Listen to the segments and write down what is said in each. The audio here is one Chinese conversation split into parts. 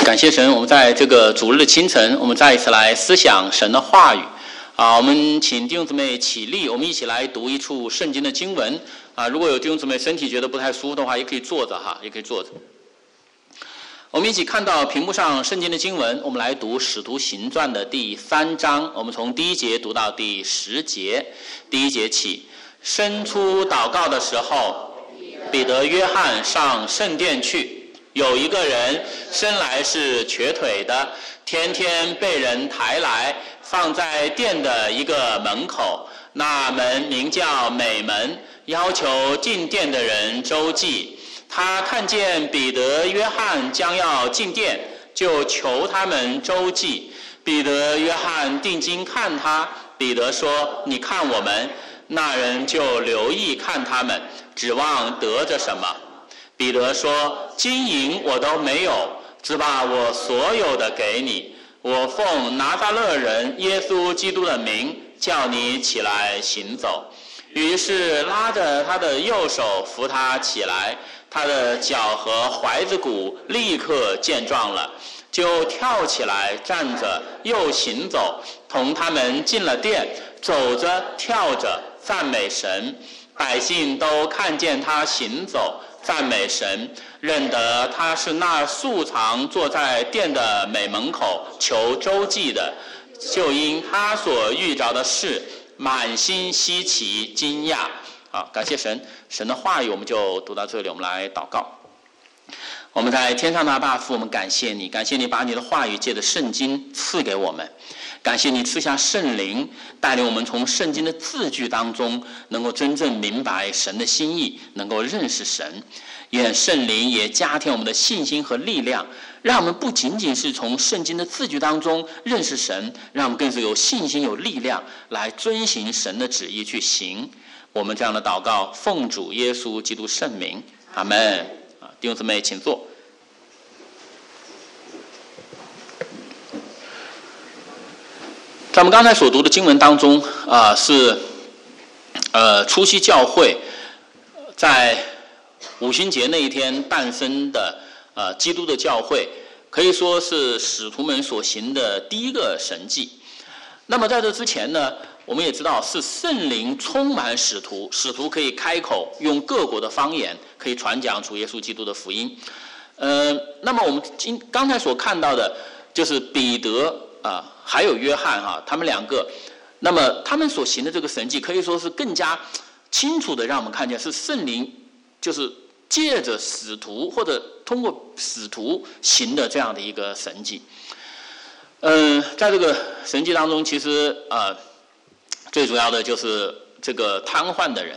感谢神，我们在这个主日的清晨，我们再一次来思想神的话语。我们请弟兄姊妹起立，我们一起来读一处圣经的经文。如果有弟兄姊妹身体觉得不太舒服的话，也可以坐着也可以坐着。我们一起看到屏幕上圣经的经文，我们来读《使徒行传》的第3章，我们从第1节读到第10节。第1节起，申初祷告的时候，彼得、约翰上圣殿去。有一个人生来是瘸腿的，天天被人抬来，放在殿的一个门口，那门名叫美门，要求进殿的人周济。他看见彼得、约翰将要进殿，就求他们周济。彼得、约翰定睛看他，彼得说：“你看我们。”那人就留意看他们，指望得着什么。彼得说：“金银我都没有，只把我所有的给你。我奉拿撒勒人耶稣基督的名，叫你起来行走。”于是拉着他的右手扶他起来，他的脚和踝子骨立刻健壮了，就跳起来站着，又行走，同他们进了殿，走着跳着赞美神。百姓都看见他行走赞美神，认得他是那素常坐在殿的美门口求周济的，就因他所遇着的事满心稀奇惊讶。感谢神，神的话语我们就读到这里，我们来祷告。我们在天上的阿爸父，我们感谢你，感谢你把你的话语借着圣经赐给我们，感谢你赐下圣灵，带领我们从圣经的字句当中能够真正明白神的心意，能够认识神。愿圣灵也加添我们的信心和力量，让我们不仅仅是从圣经的字句当中认识神，让我们更是有信心有力量来遵行神的旨意去行。我们这样的祷告奉主耶稣基督圣名，阿们。弟兄姊妹请坐。在我们刚才所读的经文当中是初期教会在五旬节那一天诞生的基督的教会，可以说是使徒们所行的第一个神迹。那么在这之前呢，我们也知道是圣灵充满使徒，使徒可以开口用各国的方言，可以传讲主耶稣基督的福音。那么我们刚才所看到的就是彼得还有约翰他们两个，那么他们所行的这个神迹可以说是更加清楚的让我们看见是圣灵就是借着使徒或者通过使徒行的这样的一个神迹。在这个神迹当中，其实最主要的就是这个瘫痪的人。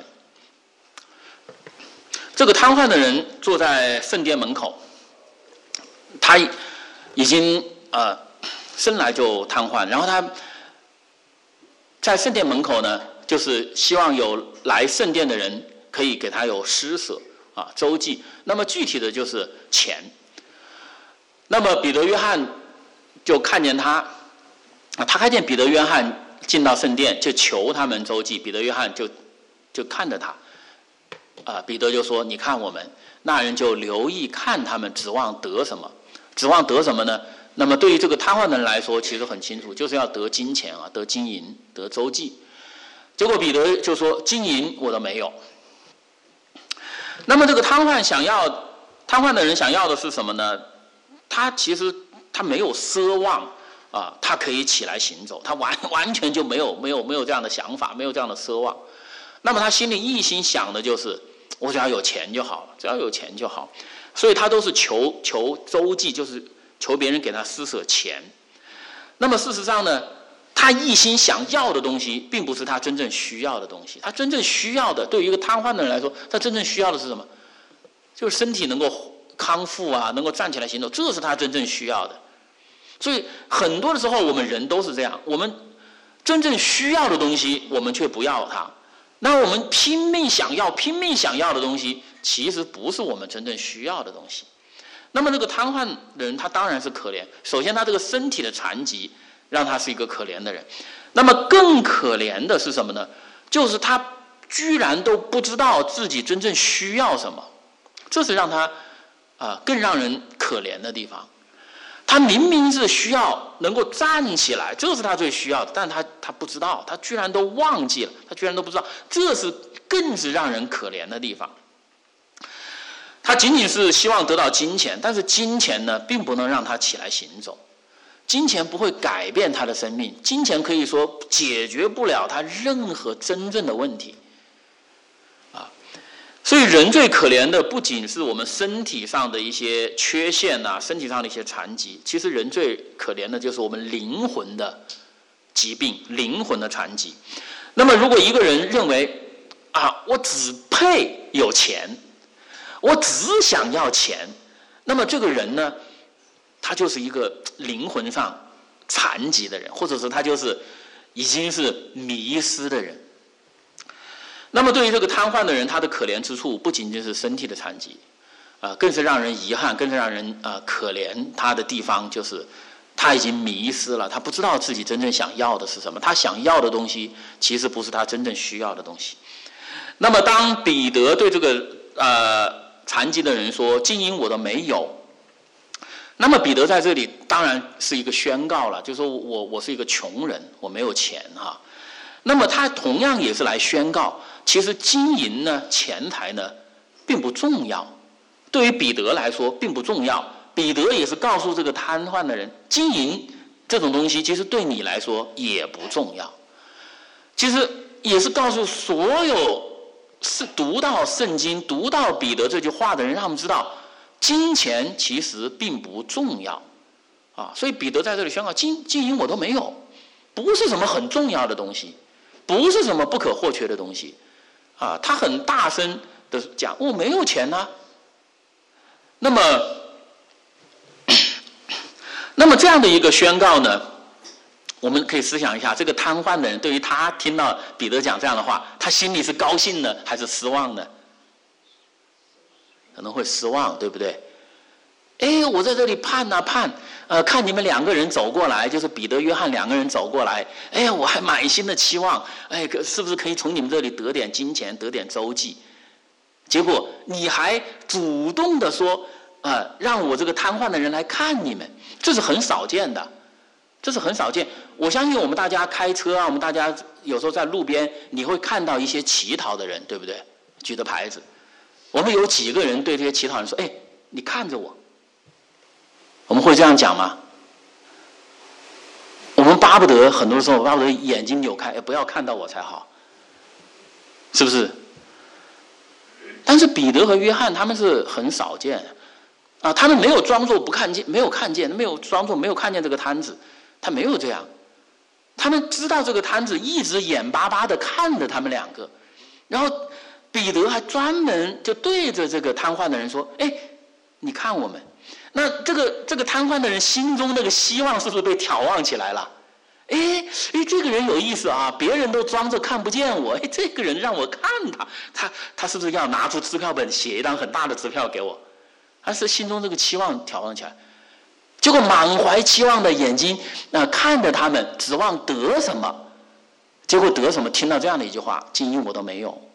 这个瘫痪的人坐在圣殿门口，他已经生来就瘫痪，然后他在圣殿门口呢，就是希望有来圣殿的人可以给他有施舍周济。那么具体的就是钱。那么彼得约翰就看见他看见彼得约翰进到圣殿，就求他们周济。彼得约翰就看着他彼得就说：“你看我们。”那人就留意看他们，指望得什么？指望得什么呢？那么对于这个瘫痪的人来说，其实很清楚，就是要得金钱得金银，得周济。结果彼得就说：“金银我都没有。”那么这个瘫痪的人想要的是什么呢？他其实他没有奢望他可以起来行走，他完全就没有这样的想法，没有这样的奢望。那么他心里一心想的就是我只要有钱就好了，只要有钱就好。所以他都是求周济，就是求别人给他施舍钱。那么事实上呢，他一心想要的东西并不是他真正需要的东西。他真正需要的，对于一个瘫痪的人来说，他真正需要的是什么？就是身体能够康复能够站起来行走，这是他真正需要的。所以很多的时候我们人都是这样，我们真正需要的东西我们却不要它，那我们拼命想要的东西其实不是我们真正需要的东西。那么这个瘫痪的人他当然是可怜，首先他这个身体的残疾让他是一个可怜的人，那么更可怜的是什么呢？就是他居然都不知道自己真正需要什么，这是让他更让人可怜的地方。 他明明是需要能够站起来，这是他最需要的，但他不知道，他居然都忘记了，他居然都不知道，这是更是让人可怜的地方。他仅仅是希望得到金钱，但是金钱呢，并不能让他起来行走，金钱不会改变他的生命，金钱可以说解决不了他任何真正的问题。所以人最可怜的不仅是我们身体上的一些缺陷身体上的一些残疾，其实人最可怜的就是我们灵魂的疾病，灵魂的残疾。那么如果一个人认为我只配有钱，我只想要钱，那么这个人呢，他就是一个灵魂上残疾的人，或者是他就是已经是迷失的人。那么对于这个瘫痪的人，他的可怜之处不仅仅是身体的残疾，更是让人遗憾，更是让人可怜他的地方，就是他已经迷失了，他不知道自己真正想要的是什么，他想要的东西其实不是他真正需要的东西。那么当彼得对这个残疾的人说金银我都没有，那么彼得在这里当然是一个宣告了，就是说我是一个穷人，我没有钱那么他同样也是来宣告，其实金银呢，钱财呢，并不重要。对于彼得来说，并不重要。彼得也是告诉这个瘫痪的人，金银这种东西，其实对你来说也不重要。其实也是告诉所有是读到圣经、读到彼得这句话的人，让他们知道，金钱其实并不重要所以彼得在这里宣告，金银我都没有，不是什么很重要的东西。不是什么不可或缺的东西他很大声的讲我没有钱那么这样的一个宣告呢，我们可以思想一下，这个瘫痪的人对于他听到彼得讲这样的话，他心里是高兴呢还是失望呢？可能会失望，对不对？我在这里盼看你们两个人走过来，就是彼得、约翰两个人走过来，我还满心的期望，是不是可以从你们这里得点金钱，得点周济？结果你还主动的说，让我这个瘫痪的人来看你们，这是很少见的，这是很少见。我相信我们大家开车我们大家有时候在路边，你会看到一些乞讨的人，对不对？举着牌子，我们有几个人对这些乞讨人说，你看着我。我们会这样讲吗？我们巴不得很多时候巴不得眼睛扭开，不要看到我才好，是不是？但是彼得和约翰他们是很少见他们没有装作不看见，没有看见，没有装作没有看见这个摊子，他没有这样，他们知道这个摊子一直眼巴巴的看着他们两个，然后彼得还专门就对着这个瘫痪的人说，你看我们。那这个瘫痪的人心中那个希望是不是被挑旺起来了？这个人有意思别人都装着看不见我，这个人让我看他是不是要拿出支票本写一张很大的支票给我？他是心中这个期望挑旺起来，结果满怀期望的眼睛看着他们，指望得什么，结果得什么？听到这样的一句话，金银我都没有。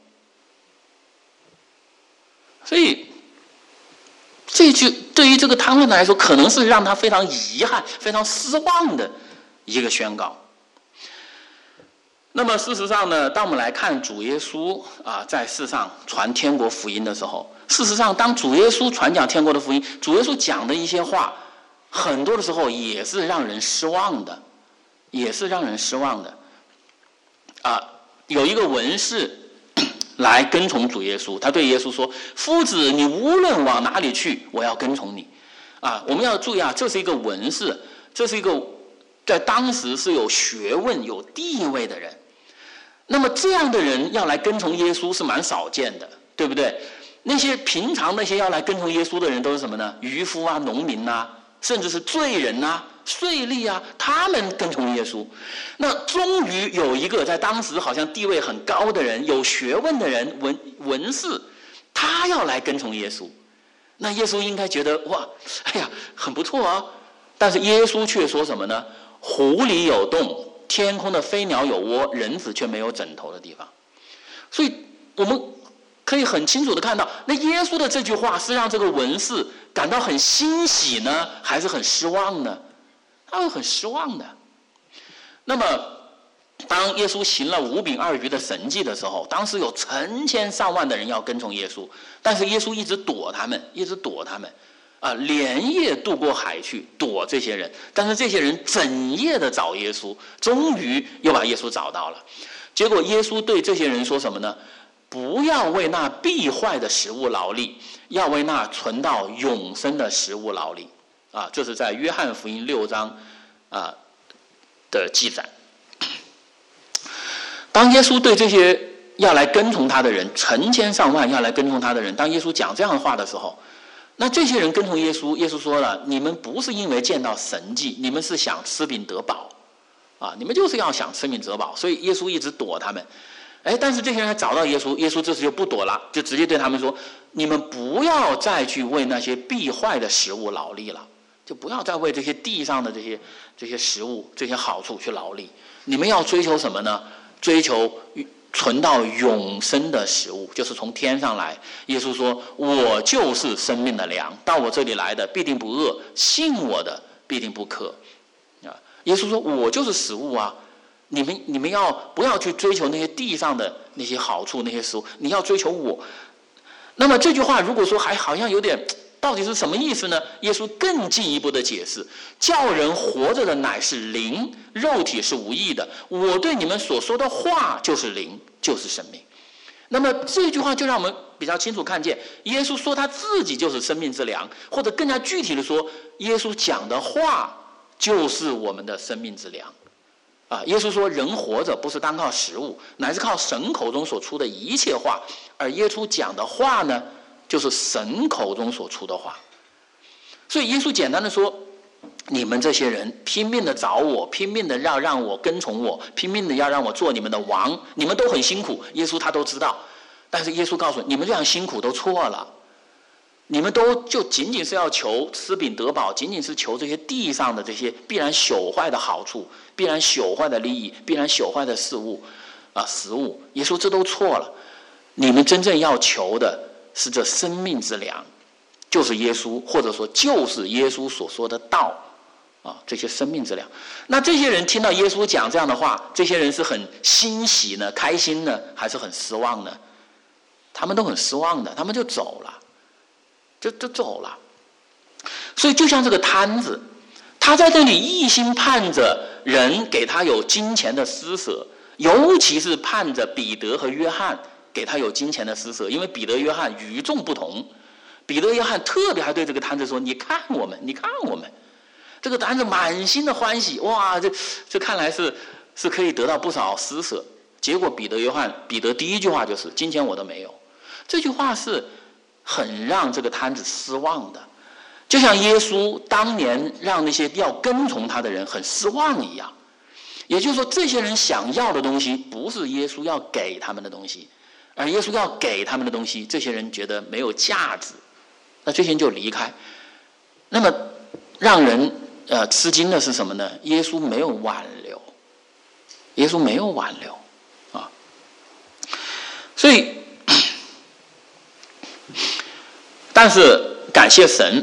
所以这句对于这个瘫痪的来说，可能是让他非常遗憾、非常失望的一个宣告。那么事实上呢，当我们来看主耶稣在世上传天国福音的时候，事实上当主耶稣传讲天国的福音，主耶稣讲的一些话，很多的时候也是让人失望的，也是让人失望的。有一个文士来跟从主耶稣，他对耶稣说：“夫子，你无论往哪里去，我要跟从你。”我们要注意这是一个文士，这是一个在当时是有学问、有地位的人。那么这样的人要来跟从耶稣是蛮少见的，对不对？那些平常那些要来跟从耶稣的人都是什么呢？渔夫农民甚至是罪人税吏他们跟从耶稣。那终于有一个在当时好像地位很高的人，有学问的人，文士，他要来跟从耶稣。那耶稣应该觉得哇，很不错但是耶稣却说什么呢？湖里有洞，天空的飞鸟有窝，人子却没有枕头的地方。所以我们可以很清楚的看到，那耶稣的这句话是让这个文士感到很欣喜呢，还是很失望呢？他会很失望的。那么当耶稣行了5饼2鱼的神迹的时候，当时有成千上万的人要跟从耶稣，但是耶稣一直躲他们，连夜渡过海去躲这些人，但是这些人整夜的找耶稣，终于又把耶稣找到了。结果耶稣对这些人说什么呢？不要为那必坏的食物劳力，要为那存到永生的食物劳力。这是在约翰福音6章的记载。当耶稣对这些要来跟从他的人，成千上万要来跟从他的人，当耶稣讲这样的话的时候，那这些人跟从耶稣，耶稣说了，你们不是因为见到神迹，你们是想吃饼得饱你们就是要想吃饼得饱，所以耶稣一直躲他们。但是这些人还找到耶稣，耶稣这次就不躲了，就直接对他们说，你们不要再去为那些必坏的食物劳力了，就不要再为这些地上的这些食物这些好处去劳力，你们要追求什么呢？追求存到永生的食物，就是从天上来。耶稣说，我就是生命的粮，到我这里来的必定不饿，信我的必定不渴。耶稣说，我就是食物啊，你们要不要去追求那些地上的那些好处那些食物，你要追求我。那么这句话如果说还好像有点到底是什么意思呢？耶稣更进一步的解释，叫人活着的乃是灵，肉体是无益的，我对你们所说的话就是灵，就是生命。那么这句话就让我们比较清楚看见，耶稣说他自己就是生命之粮，或者更加具体的说，耶稣讲的话就是我们的生命之粮。耶稣说，人活着不是单靠食物，乃是靠神口中所出的一切话，而耶稣讲的话呢，就是神口中所出的话。所以耶稣简单的说，你们这些人拼命的找我，拼命的要让我跟从我，拼命的要让我做你们的王，你们都很辛苦，耶稣他都知道。但是耶稣告诉你们，这样辛苦都错了，你们都就仅仅是要求吃饼得饱，仅仅是求这些地上的这些必然朽坏的好处，必然朽坏的利益，必然朽坏的食物。耶稣这都错了，你们真正要求的是这生命之粮，就是耶稣，或者说就是耶稣所说的道这些生命之粮。那这些人听到耶稣讲这样的话，这些人是很欣喜呢，开心呢，还是很失望呢？他们都很失望的，他们就走了，就走了。所以就像这个摊子，他在这里一心盼着人给他有金钱的施舍，尤其是盼着彼得和约翰给他有金钱的施舍，因为彼得约翰与众不同。彼得约翰特别还对这个摊子说，你看我们，你看我们。这个摊子满心的欢喜，哇，这看来是可以得到不少施舍。结果彼得第一句话就是金钱我都没有。这句话是很让这个摊子失望的，就像耶稣当年让那些要跟从他的人很失望一样。也就是说，这些人想要的东西不是耶稣要给他们的东西，而耶稣要给他们的东西，这些人觉得没有价值，那这些人就离开。那么让人吃惊的是什么呢？耶稣没有挽留，耶稣没有挽留所以但是感谢神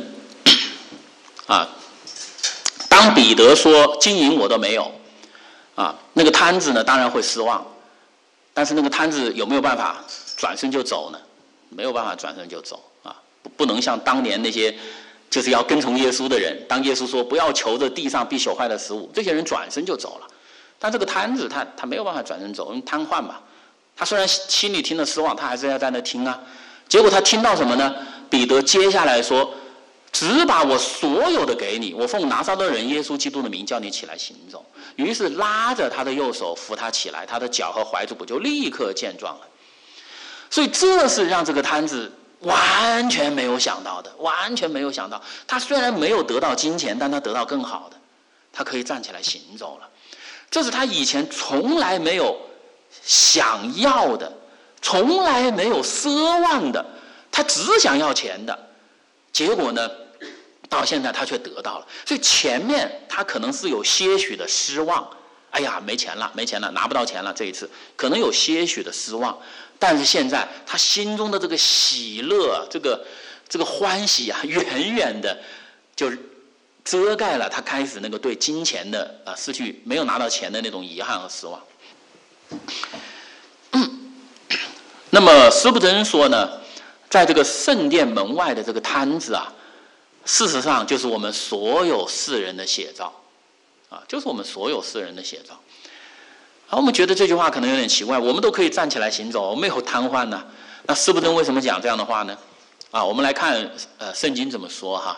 当彼得说金银我都没有那个摊子呢当然会失望，但是那个摊子有没有办法转身就走呢？没有办法转身就走不能像当年那些就是要跟从耶稣的人，当耶稣说不要求着地上必朽坏的食物，这些人转身就走了。但这个摊子他没有办法转身走，因为瘫痪嘛。他虽然心里听了失望，他还是要在那听结果他听到什么呢？彼得接下来说，只把我所有的给你，我奉拿撒勒人耶稣基督的名叫你起来行走。于是拉着他的右手扶他起来，他的脚和踝部就立刻健壮了。所以这是让这个摊子完全没有想到的，完全没有想到。他虽然没有得到金钱，但他得到更好的，他可以站起来行走了。这是他以前从来没有想要的，从来没有奢望的，他只想要钱的。结果呢，到现在他却得到了。所以前面他可能是有些许的失望， 哎呀，没钱了，拿不到钱了，这一次可能有些许的失望，但是现在他心中的这个喜乐，这个欢喜啊，远远的就遮盖了他开始那个对金钱的失去没有拿到钱的那种遗憾和失望。那么斯布真说呢，在这个圣殿门外的这个摊子啊，事实上就是我们所有世人的写照啊，就是我们所有世人的写照。我们觉得这句话可能有点奇怪，我们都可以站起来行走，没有瘫痪呢，那斯布真为什么讲这样的话呢？我们来看圣经怎么说哈。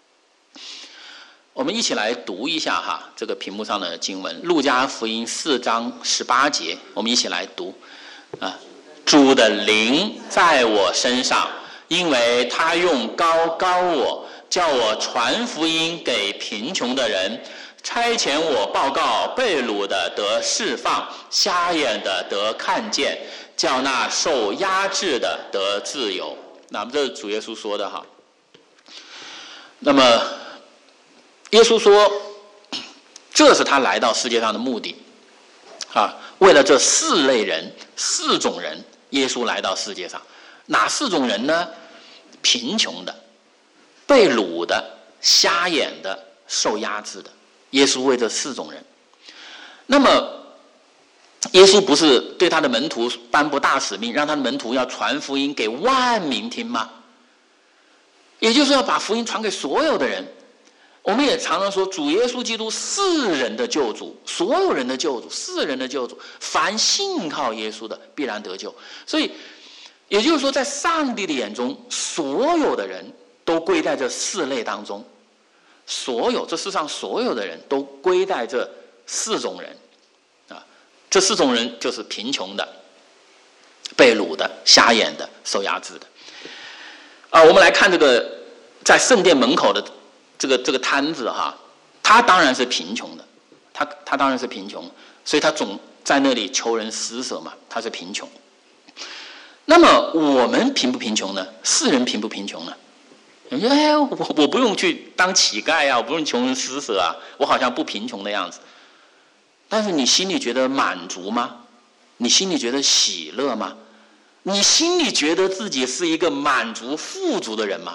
我们一起来读一下哈，这个屏幕上的经文，路加福音4章18节，我们一起来读啊。主的灵在我身上，因为他用膏膏我，叫我传福音给贫穷的人，差遣我报告被掳的得释放，瞎眼的得看见，叫那受压制的得自由。那么这是主耶稣说的哈。那么耶稣说，这是他来到世界上的目的啊，为了这4类人、4种人，耶稣来到世界上。哪4种人呢？贫穷的、被掳的、瞎眼的、受压制的。耶稣为这4种人。那么耶稣不是对他的门徒颁布大使命，让他的门徒要传福音给万民听吗？也就是要把福音传给所有的人。我们也常常说，主耶稣基督世人的救主，所有人的救主，世人的救主，凡信靠耶稣的必然得救。所以也就是说，在上帝的眼中，所有的人都归在这4类当中。这世上所有的人都归在这4种人啊，这4种人就是贫穷的、被掳的、瞎眼的、受压制的。我们来看这个在圣殿门口的这个摊子哈，他当然是贫穷的，他当然是贫穷，所以他总在那里求人施舍嘛，他是贫穷。那么我们贫不贫穷呢？世人贫不贫穷呢？我不用去当乞丐啊，我不用求人施舍啊，我好像不贫穷的样子。但是你心里觉得满足吗？你心里觉得喜乐吗？你心里觉得自己是一个满足富足的人吗？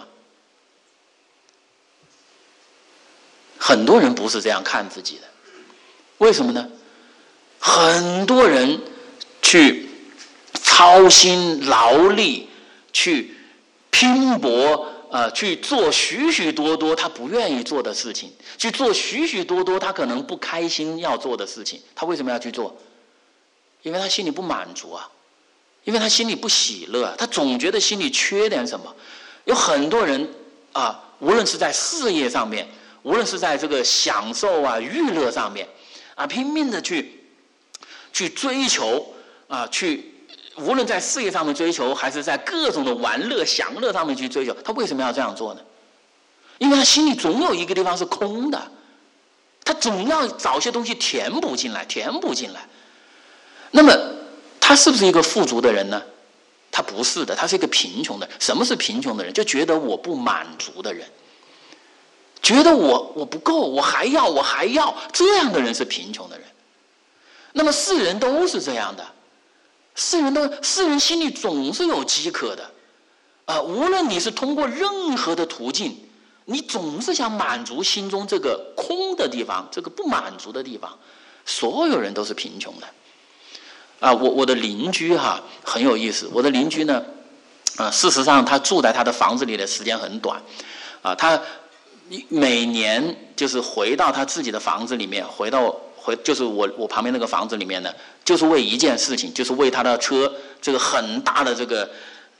很多人不是这样看自己的。为什么呢？很多人去操心劳力，去拼搏，去做许许多多他不愿意做的事情，去做许许多多他可能不开心要做的事情。他为什么要去做？因为他心里不满足啊，因为他心里不喜乐啊，他总觉得心里缺点什么。有很多人无论是在事业上面，无论是在这个享受啊、娱乐上面拼命的去追求无论在事业上面追求，还是在各种的玩乐享乐上面去追求，他为什么要这样做呢？因为他心里总有一个地方是空的，他总要找些东西填补进来。那么他是不是一个富足的人呢？他不是的，他是一个贫穷的人。什么是贫穷的人？就觉得我不满足的人，觉得我不够，我还要，这样的人是贫穷的人。那么世人都是这样的，世人心里总是有饥渴的无论你是通过任何的途径，你总是想满足心中这个空的地方，这个不满足的地方。所有人都是贫穷的我的邻居很有意思。我的邻居呢事实上他住在他的房子里的时间很短他每年就是回到他自己的房子里面，就是我旁边那个房子里面呢，就是为一件事情，就是为他的车这个很大的这个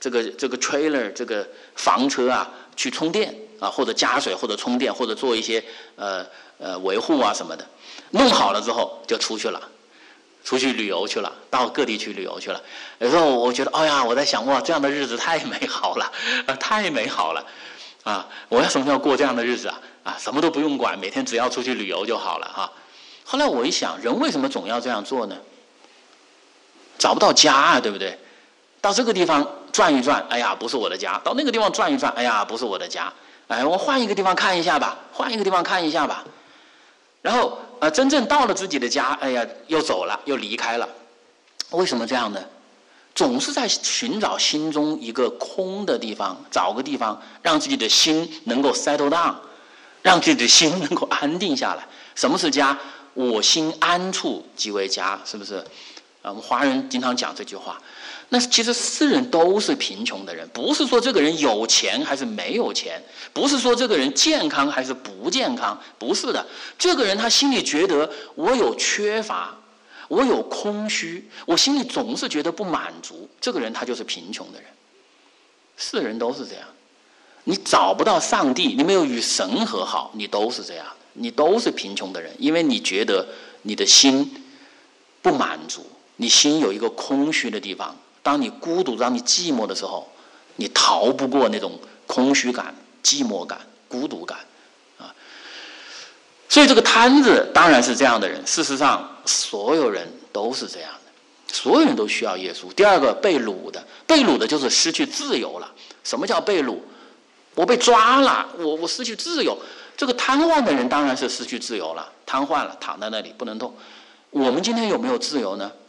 trailer 这个房车去充电或者加水，或者充电，或者做一些维护什么的。弄好了之后就出去旅游去了，到各地去旅游去了。有时候我觉得我在想这样的日子太美好了太美好了我要什么时候过这样的日子什么都不用管，每天只要出去旅游就好了后来我一想，人为什么总要这样做呢？找不到家对不对？到这个地方转一转，不是我的家；到那个地方转一转，不是我的家。我换一个地方看一下吧，然后真正到了自己的家，哎呀，又走了，又离开了。为什么这样呢？总是在寻找心中一个空的地方，找个地方让自己的心能够 settle down， 让自己的心能够安定下来。什么是家？我心安处即为家，是不是？我们华人经常讲这句话。那其实世人都是贫穷的人，不是说这个人有钱还是没有钱，不是说这个人健康还是不健康，不是的。这个人他心里觉得我有缺乏，我有空虚，我心里总是觉得不满足，这个人他就是贫穷的人。世人都是这样，你找不到上帝，你没有与神和好，你都是这样，你都是贫穷的人，因为你觉得你的心不满足，你心有一个空虚的地方。当你孤独，当你寂寞的时候，你逃不过那种空虚感、寂寞感、孤独感啊。所以这个摊子当然是这样的人。事实上，所有人都是这样的，所有人都需要耶稣。第二个，被掳的，被掳的就是失去自由了。什么叫被掳？我被抓了，我失去自由。这个瘫痪的人当然是失去自由了，瘫痪了，躺在那里不能动。我们今天有没有自由呢？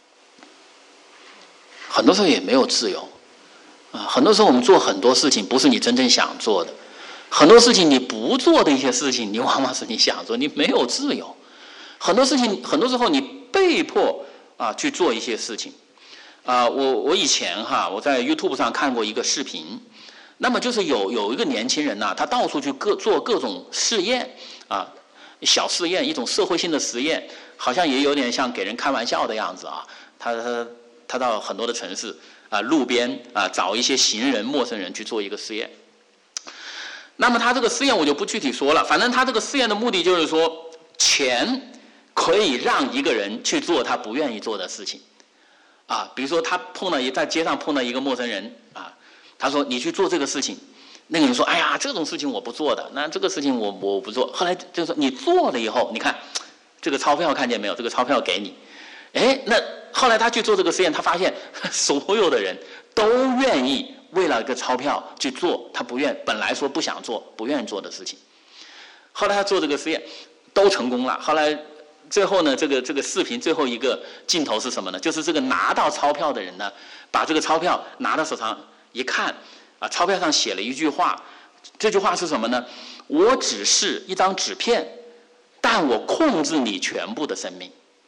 很多时候也没有自由啊。很多时候我们做很多事情不是你真正想做的，很多事情你不做的一些事情，你往往是你想做，你没有自由。很多事情，很多时候你被迫去做一些事情我以前我在 YouTube 上看过一个视频，那么就是有一个年轻人他到处去做各种试验小试验，一种社会性的实验，好像也有点像给人开玩笑的样子他到很多的城市路边找一些行人、陌生人去做一个试验。那么他这个试验我就不具体说了，反正他这个试验的目的就是说，钱可以让一个人去做他不愿意做的事情比如说他在街上碰到一个陌生人他说你去做这个事情，那个人说哎呀这种事情我不做的，那这个事情我不做。后来就说你做了以后，你看这个钞票看见没有，这个钞票给你。那后来他去做这个实验，他发现所有的人都愿意为了一个钞票去做他本来说不想做、不愿意做的事情。后来他做这个实验都成功了。后来最后呢，这个视频最后一个镜头是什么呢？就是这个拿到钞票的人呢，把这个钞票拿到手上一看钞票上写了一句话，这句话是什么呢？我只是一张纸片，但我控制你全部的生命。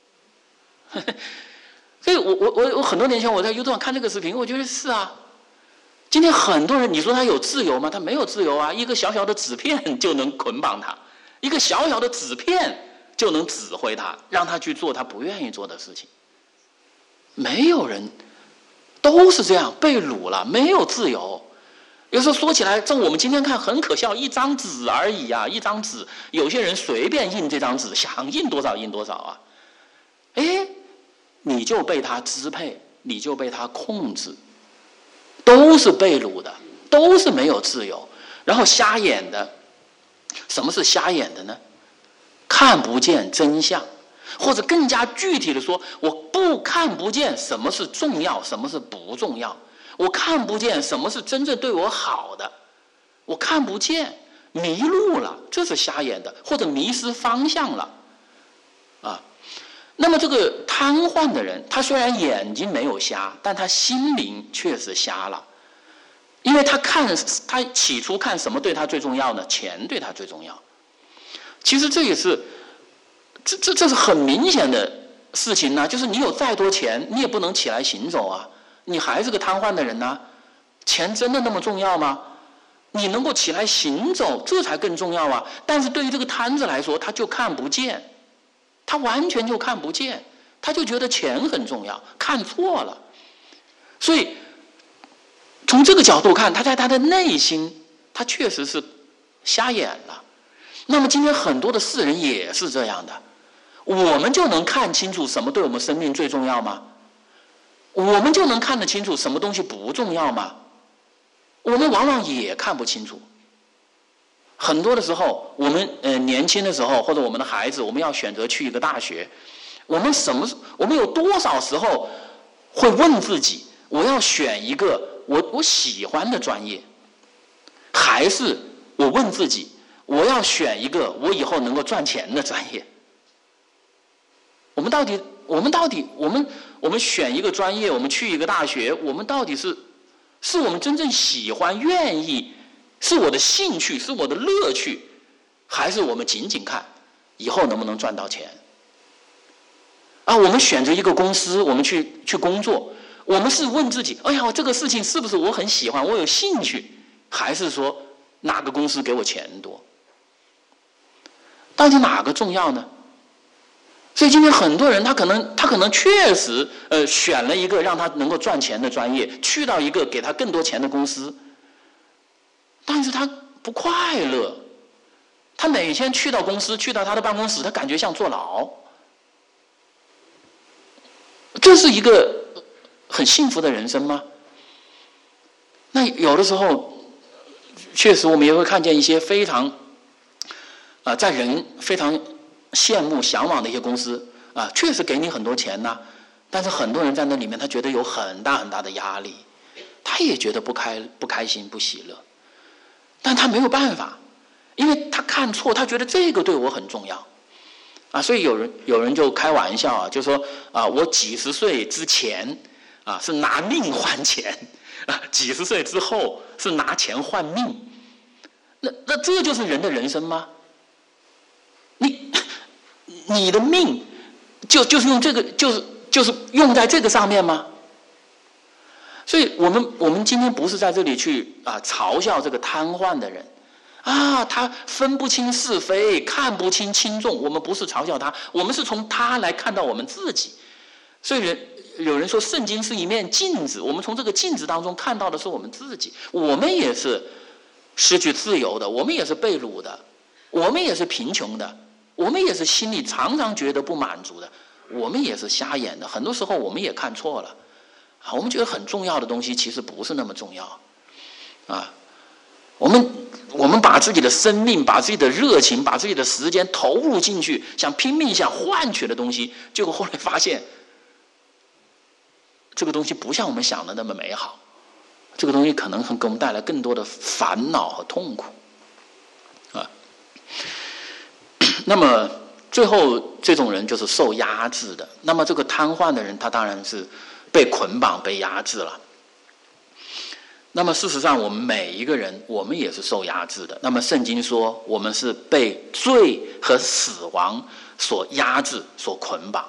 所以我很多年前我在 YouTube 上看这个视频，我觉得是今天很多人你说他有自由吗？他没有自由一个小小的纸片就能捆绑他，一个小小的纸片就能指挥他，让他去做他不愿意做的事情。没有人，都是这样被掳了，没有自由。有时候说起来，这我们今天看很可笑，一张纸而已一张纸，有些人随便印这张纸，想印多少印多少你就被他支配，你就被他控制，都是被掳的，都是没有自由。然后瞎眼的，什么是瞎眼的呢？看不见真相，或者更加具体的说，我看不见什么是重要，什么是不重要，我看不见什么是真正对我好的，我看不见，迷路了，这是瞎眼的，或者迷失方向了那么这个瘫痪的人，他虽然眼睛没有瞎，但他心灵确实瞎了，因为他起初看什么对他最重要呢？钱对他最重要。其实这也是这是很明显的事情就是你有再多钱，你也不能起来行走你还是个瘫痪的人钱真的那么重要吗？你能够起来行走，这才更重要但是对于这个摊子来说，他就看不见，他完全就看不见，他就觉得钱很重要，看错了。所以从这个角度看，他在他的内心，他确实是瞎眼了。那么今天很多的世人也是这样的，我们就能看清楚什么对我们生命最重要吗？我们就能看得清楚什么东西不重要吗？我们往往也看不清楚。很多的时候，我们年轻的时候，或者我们的孩子，我们要选择去一个大学，我们有多少时候会问自己，我要选一个我喜欢的专业，还是我问自己，我要选一个我以后能够赚钱的专业？ 我们选一个专业，我们去一个大学，我们到底是我们真正喜欢、愿意，是我的兴趣，是我的乐趣，还是我们仅仅看以后能不能赚到钱？我们选择一个公司，我们去工作，我们是问自己：哎呀，这个事情是不是我很喜欢，我有兴趣，还是说哪个公司给我钱多？到底哪个重要呢？所以今天很多人他可能确实选了一个让他能够赚钱的专业，去到一个给他更多钱的公司，但是他不快乐，他每天去到公司，去到他的办公室，他感觉像坐牢。这是一个很幸福的人生吗？那有的时候确实我们也会看见一些非常在人非常羡慕向往的一些公司确实给你很多钱呐，但是很多人在那里面他觉得有很大很大的压力，他也觉得不开心不喜乐，但他没有办法，因为他看错，他觉得这个对我很重要所以有人就开玩笑就说我几十岁之前是拿命换钱几十岁之后是拿钱换命，那这就是人的人生吗？你的命就是用这个就是用在这个上面吗？所以我们今天不是在这里去嘲笑这个瘫痪的人他分不清是非，看不清轻重，我们不是嘲笑他，我们是从他来看到我们自己。所以有人说圣经是一面镜子，我们从这个镜子当中看到的是我们自己，我们也是失去自由的，我们也是被掳的，我们也是贫穷的，我们也是心里常常觉得不满足的，我们也是瞎眼的，很多时候我们也看错了我们觉得很重要的东西其实不是那么重要我们把自己的生命，把自己的热情，把自己的时间投入进去，想拼命想换取的东西，结果后来发现这个东西不像我们想的那么美好，这个东西可能会给我们带来更多的烦恼和痛苦那么最后这种人就是受压制的，那么这个瘫痪的人他当然是被捆绑被压制了。那么事实上我们每一个人我们也是受压制的，那么圣经说我们是被罪和死亡所压制所捆绑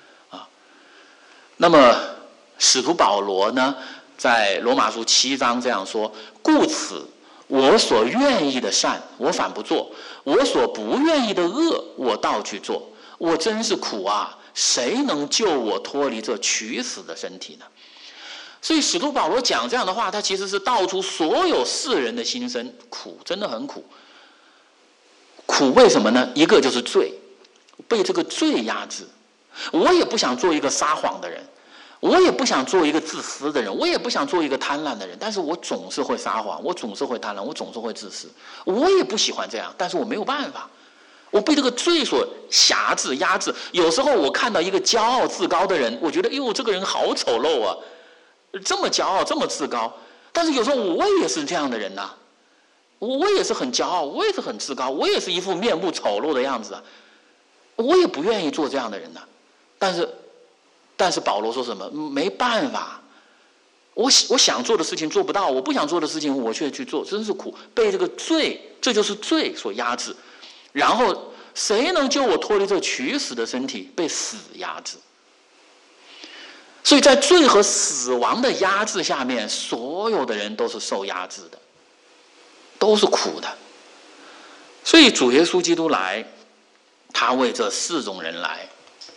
那么使徒保罗呢在罗马书7章这样说：故此我所愿意的善我反不做，我所不愿意的恶我倒去做，我真是苦谁能救我脱离这取死的身体呢？所以使徒保罗讲这样的话，他其实是道出所有世人的心声，苦，真的很苦。苦为什么呢？一个就是罪，被这个罪压制。我也不想做一个撒谎的人，我也不想做一个自私的人，我也不想做一个贪婪的人，但是我总是会撒谎，我总是会贪婪，我总是会自私，我也不喜欢这样，但是我没有办法，我被这个罪所辖制压制。有时候我看到一个骄傲自高的人，我觉得这个人好丑陋这么骄傲这么自高，但是有时候我也是这样的人我也是很骄傲，我也是很自高，我也是一副面目丑陋的样子我也不愿意做这样的人但是保罗说什么？没办法，我想做的事情做不到，我不想做的事情我却去做，真是苦，被这个罪，这就是罪所压制。然后谁能救我脱离这取死的身体？被死压制。所以在罪和死亡的压制下面，所有的人都是受压制的，都是苦的。所以主耶稣基督来，他为这4种人来：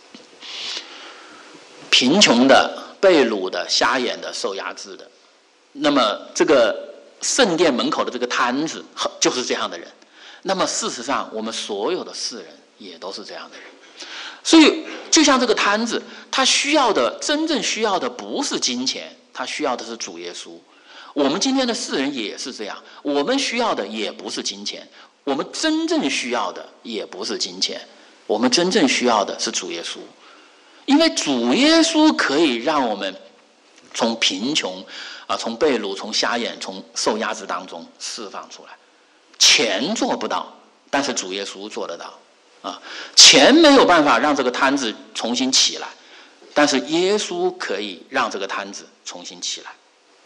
贫穷的、被掳的、瞎眼的、受压制的。那么这个圣殿门口的这个摊子就是这样的人。那么事实上我们所有的世人也都是这样的人。所以就像这个摊子，他真正需要的不是金钱，他需要的是主耶稣。我们今天的世人也是这样，我们需要的也不是金钱，我们真正需要的也不是金钱，我们真正需要的是主耶稣。因为主耶稣可以让我们从贫穷从被掳，从瞎眼，从受压制当中释放出来。钱做不到，但是主耶稣做得到。 钱没有办法让这个摊子重新起来，但是耶稣可以让这个摊子重新起来。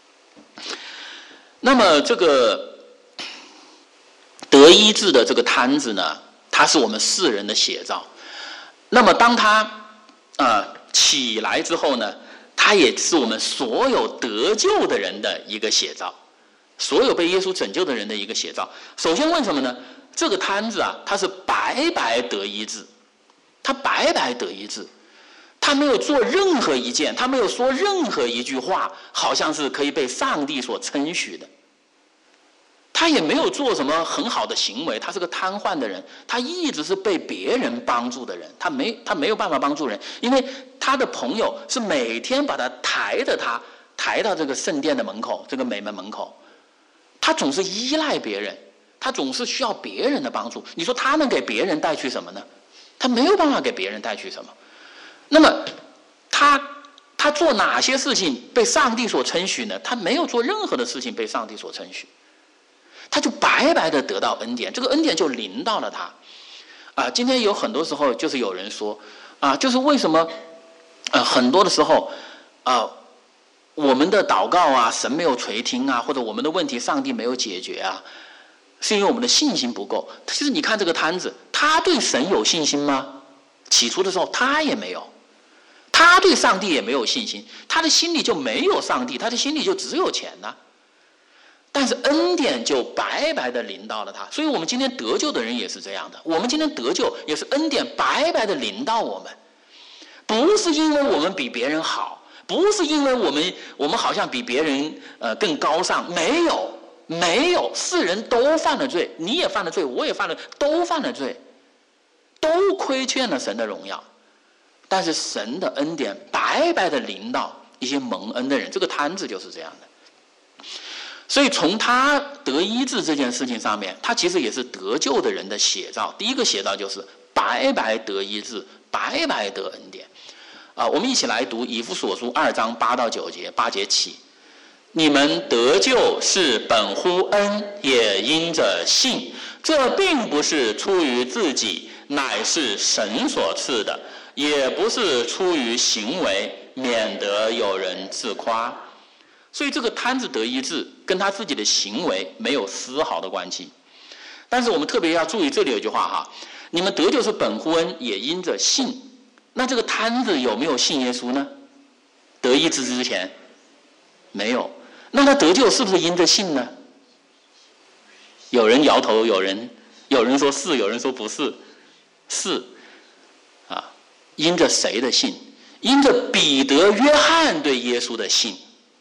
那么这个得医治的这个摊子呢，它是我们世人的写照。那么当它起来之后呢，它也是我们所有得救的人的一个写照，所有被耶稣拯救的人的一个写照。首先为什么呢？这个摊子它是白白得医治，他白白得医治，他没有做任何一件，他没有说任何一句话，好像是可以被上帝所称许的。他也没有做什么很好的行为，他是个瘫痪的人，他一直是被别人帮助的人，他没有办法帮助人，因为他的朋友是每天把他抬到这个圣殿的门口，这个美门门口，他总是依赖别人，他总是需要别人的帮助。你说他能给别人带去什么呢？他没有办法给别人带去什么。那么他做哪些事情被上帝所称许呢？他没有做任何的事情被上帝所称许，他就白白的得到恩典，这个恩典就临到了他。今天有很多时候就是有人说就是为什么很多的时候我们的祷告神没有垂听或者我们的问题上帝没有解决是因为我们的信心不够。其实你看这个摊子，他对神有信心吗？起初的时候他也没有，他对上帝也没有信心，他的心里就没有上帝，他的心里就只有钱但是恩典就白白的临到了他。所以我们今天得救的人也是这样的，我们今天得救也是恩典白白的临到我们，不是因为我们比别人好，不是因为我们好像比别人更高尚，没有，世人都犯了罪，你也犯了罪，我也犯了，都犯了罪，都亏欠了神的荣耀。但是神的恩典白白的临到一些蒙恩的人，这个摊子就是这样的。所以从他得医治这件事情上面，他其实也是得救的人的写照。第一个写照就是白白得医治，白白得恩典。我们一起来读以弗所书2章8到9节，8节起。你们得救是本乎恩，也因着信。这并不是出于自己，乃是神所赐的；也不是出于行为，免得有人自夸。所以这个摊子得医治跟他自己的行为没有丝毫的关系。但是我们特别要注意，这里有一句话你们得救是本乎恩，也因着信。那这个摊子有没有信耶稣呢？得医治之前没有。那他得救是不是因着信呢？有人摇头，有人说是，有人说不是。是因着谁的信？因着彼得、约翰对耶稣的信。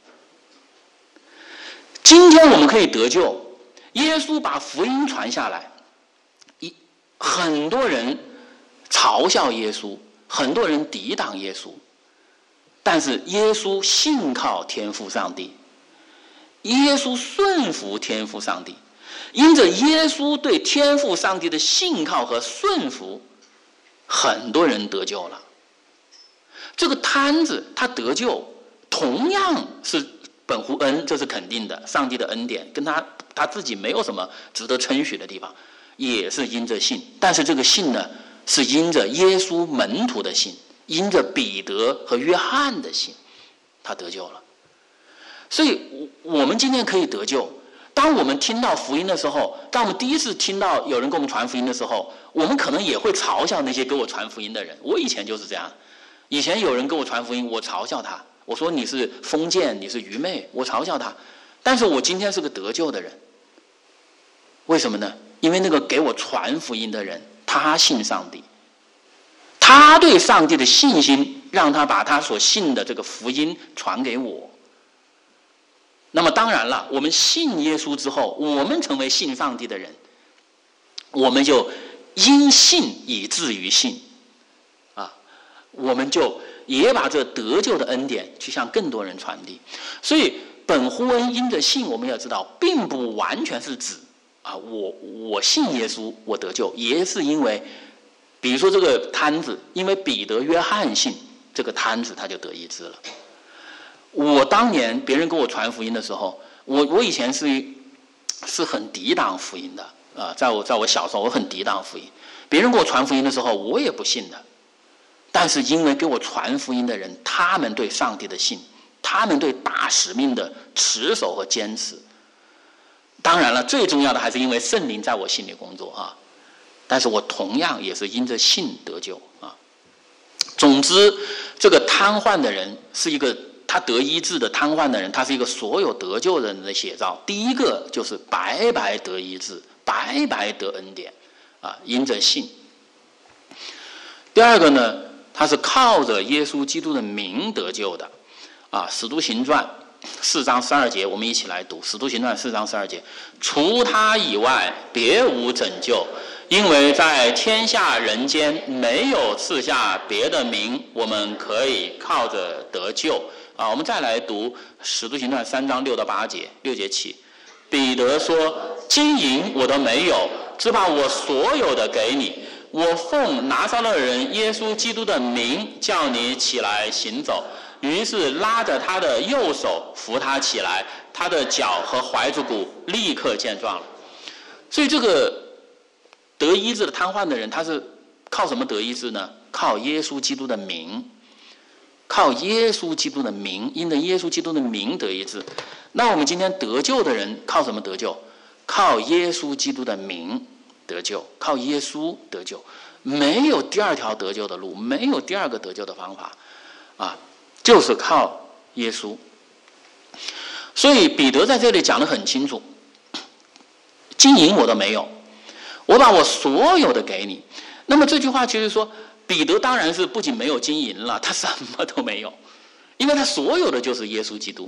今天我们可以得救，耶稣把福音传下来，很多人嘲笑耶稣，很多人抵挡耶稣，但是耶稣信靠天父上帝，耶稣顺服天父上帝，因着耶稣对天父上帝的信靠和顺服，很多人得救了。这个摊子他得救同样是本乎恩，这是肯定的，上帝的恩典跟他自己没有什么值得称许的地方，也是因着信。但是这个信呢，是因着耶稣门徒的信，因着彼得和约翰的信，他得救了。所以我们今天可以得救。当我们听到福音的时候，当我们第一次听到有人给我们传福音的时候，我们可能也会嘲笑那些给我传福音的人。我以前就是这样，以前有人给我传福音，我嘲笑他，我说你是封建，你是愚昧，我嘲笑他。但是我今天是个得救的人，为什么呢？因为那个给我传福音的人，他信上帝，他对上帝的信心让他把他所信的这个福音传给我。那么当然了，我们信耶稣之后，我们成为信上帝的人，我们就因信以至于信我们就也把这得救的恩典去向更多人传递。所以本乎恩因着信，我们要知道并不完全是指我信耶稣我得救，也是因为比如说这个摊子，因为彼得、约翰信，这个摊子他就得医治了。我当年别人给我传福音的时候，我以前是很抵挡福音的在我小时候我很抵挡福音。 别人给我传福音的时候，我也不信的。但是因为给我传福音的人，他们对上帝的信，他们对大使命的持守和坚持。当然了，最重要的还是因为圣灵在我心里工作啊。但是我同样也是因着信得救啊。总之，这个瘫痪的人是一个他得医治的瘫痪的人，他是一个所有得救人的写照。第一个就是白白得医治，白白得恩典啊，因着信。第二个呢，他是靠着耶稣基督的名得救的啊。使徒行传4章12节，我们一起来读使徒行传4章12节，除他以外别无拯救，因为在天下人间没有赐下别的名，我们可以靠着得救啊。我们再来读使徒行传3章6到8节，6节起，彼得说，金银我都没有，只把我所有的给你，我奉拿撒勒人耶稣基督的名叫你起来行走。于是拉着他的右手扶他起来，他的脚和踝子骨立刻健壮了。所以这个得医治的瘫痪的人，他是靠什么得医治呢？靠耶稣基督的名，靠耶稣基督的名，因着耶稣基督的名得医治。那我们今天得救的人靠什么得救？靠耶稣基督的名得救，靠耶稣得救，没有第二条得救的路，没有第二个得救的方法啊，就是靠耶稣。所以彼得在这里讲得很清楚，金银我都没有，我把我所有的给你。那么这句话就是说，彼得当然是不仅没有金银了，他什么都没有，因为他所有的就是耶稣基督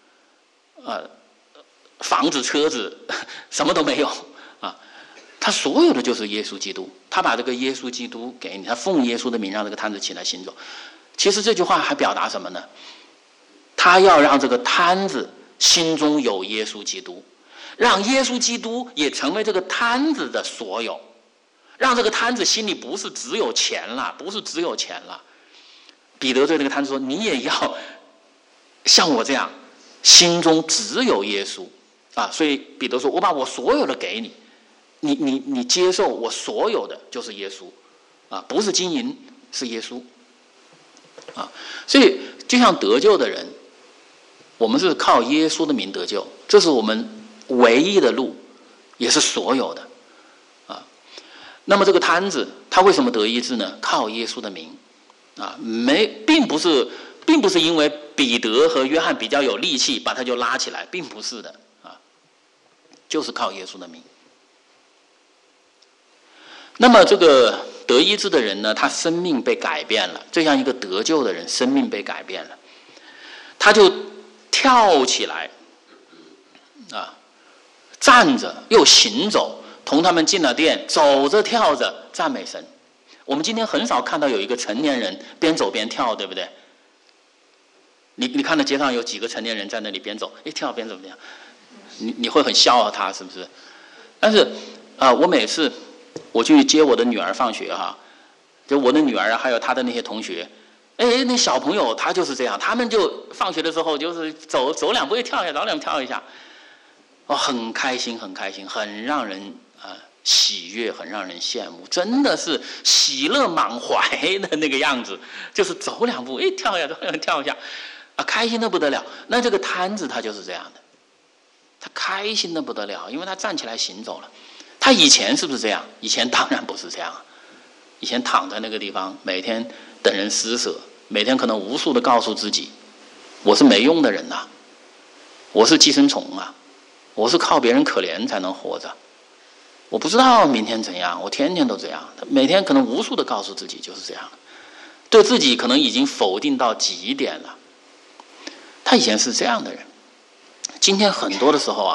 房子车子什么都没有啊，他所有的就是耶稣基督。他把这个耶稣基督给你，他奉耶稣的名让这个瘫子起来行走。其实这句话还表达什么呢？他要让这个瘫子心中有耶稣基督，让耶稣基督也成为这个瘫子的所有，让这个瘫子心里不是只有钱了，不是只有钱了。彼得对这个瘫子说，你也要像我这样心中只有耶稣啊。所以彼得说，我把我所有的给你，你接受我所有的就是耶稣啊，不是金银，是耶稣啊。所以就像得救的人，我们是靠耶稣的名得救，这是我们唯一的路，也是所有的啊。那么这个瘫子他为什么得医治呢？靠耶稣的名啊，并不是因为彼得和约翰比较有力气把他就拉起来，并不是的啊，就是靠耶稣的名。那么这个得医治的人呢，他生命被改变了，就像一个得救的人生命被改变了，他就跳起来啊，站着又行走，同他们进了殿，走着跳着赞美神。我们今天很少看到有一个成年人边走边跳，对不对？你看到街上有几个成年人在那里边走一跳边走边跳，你会很笑话他，是不是？但是我每次我去接我的女儿放学哈，就我的女儿还有她的那些同学，那小朋友他就是这样，他们就放学的时候就是走两步一跳一下，走两步跳一下，很开心很开心，很让人喜悦，很让人羡慕，真的是喜乐满怀的那个样子，就是走两步跳一下，走两步跳一下开心的不得了。那这个瘫子他就是这样的，他开心的不得了，因为他站起来行走了。他以前是不是这样？以前当然不是这样，以前躺在那个地方，每天等人施舍，每天可能无数的告诉自己，我是没用的人呐，我是寄生虫啊，我是靠别人可怜才能活着，我不知道明天怎样，我天天都这样。他每天可能无数的告诉自己就是这样，对自己可能已经否定到极点了。他以前是这样的人，今天很多的时候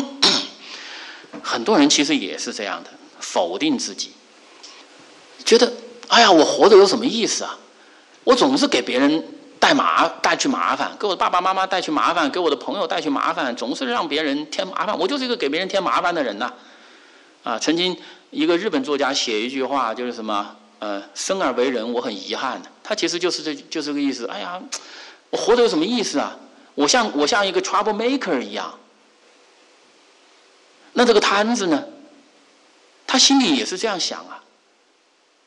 很多人其实也是这样的，否定自己，觉得我活着有什么意思啊？我总是给别人带去麻烦，给我爸爸妈妈带去麻烦，给我的朋友带去麻烦，总是让别人添麻烦，我就是一个给别人添麻烦的人呐。曾经一个日本作家写一句话，就是什么生而为人我很遗憾，他其实就是这个意思。我活着有什么意思啊？我像一个 trouble maker 一样。那这个瘫子呢，他心里也是这样想啊，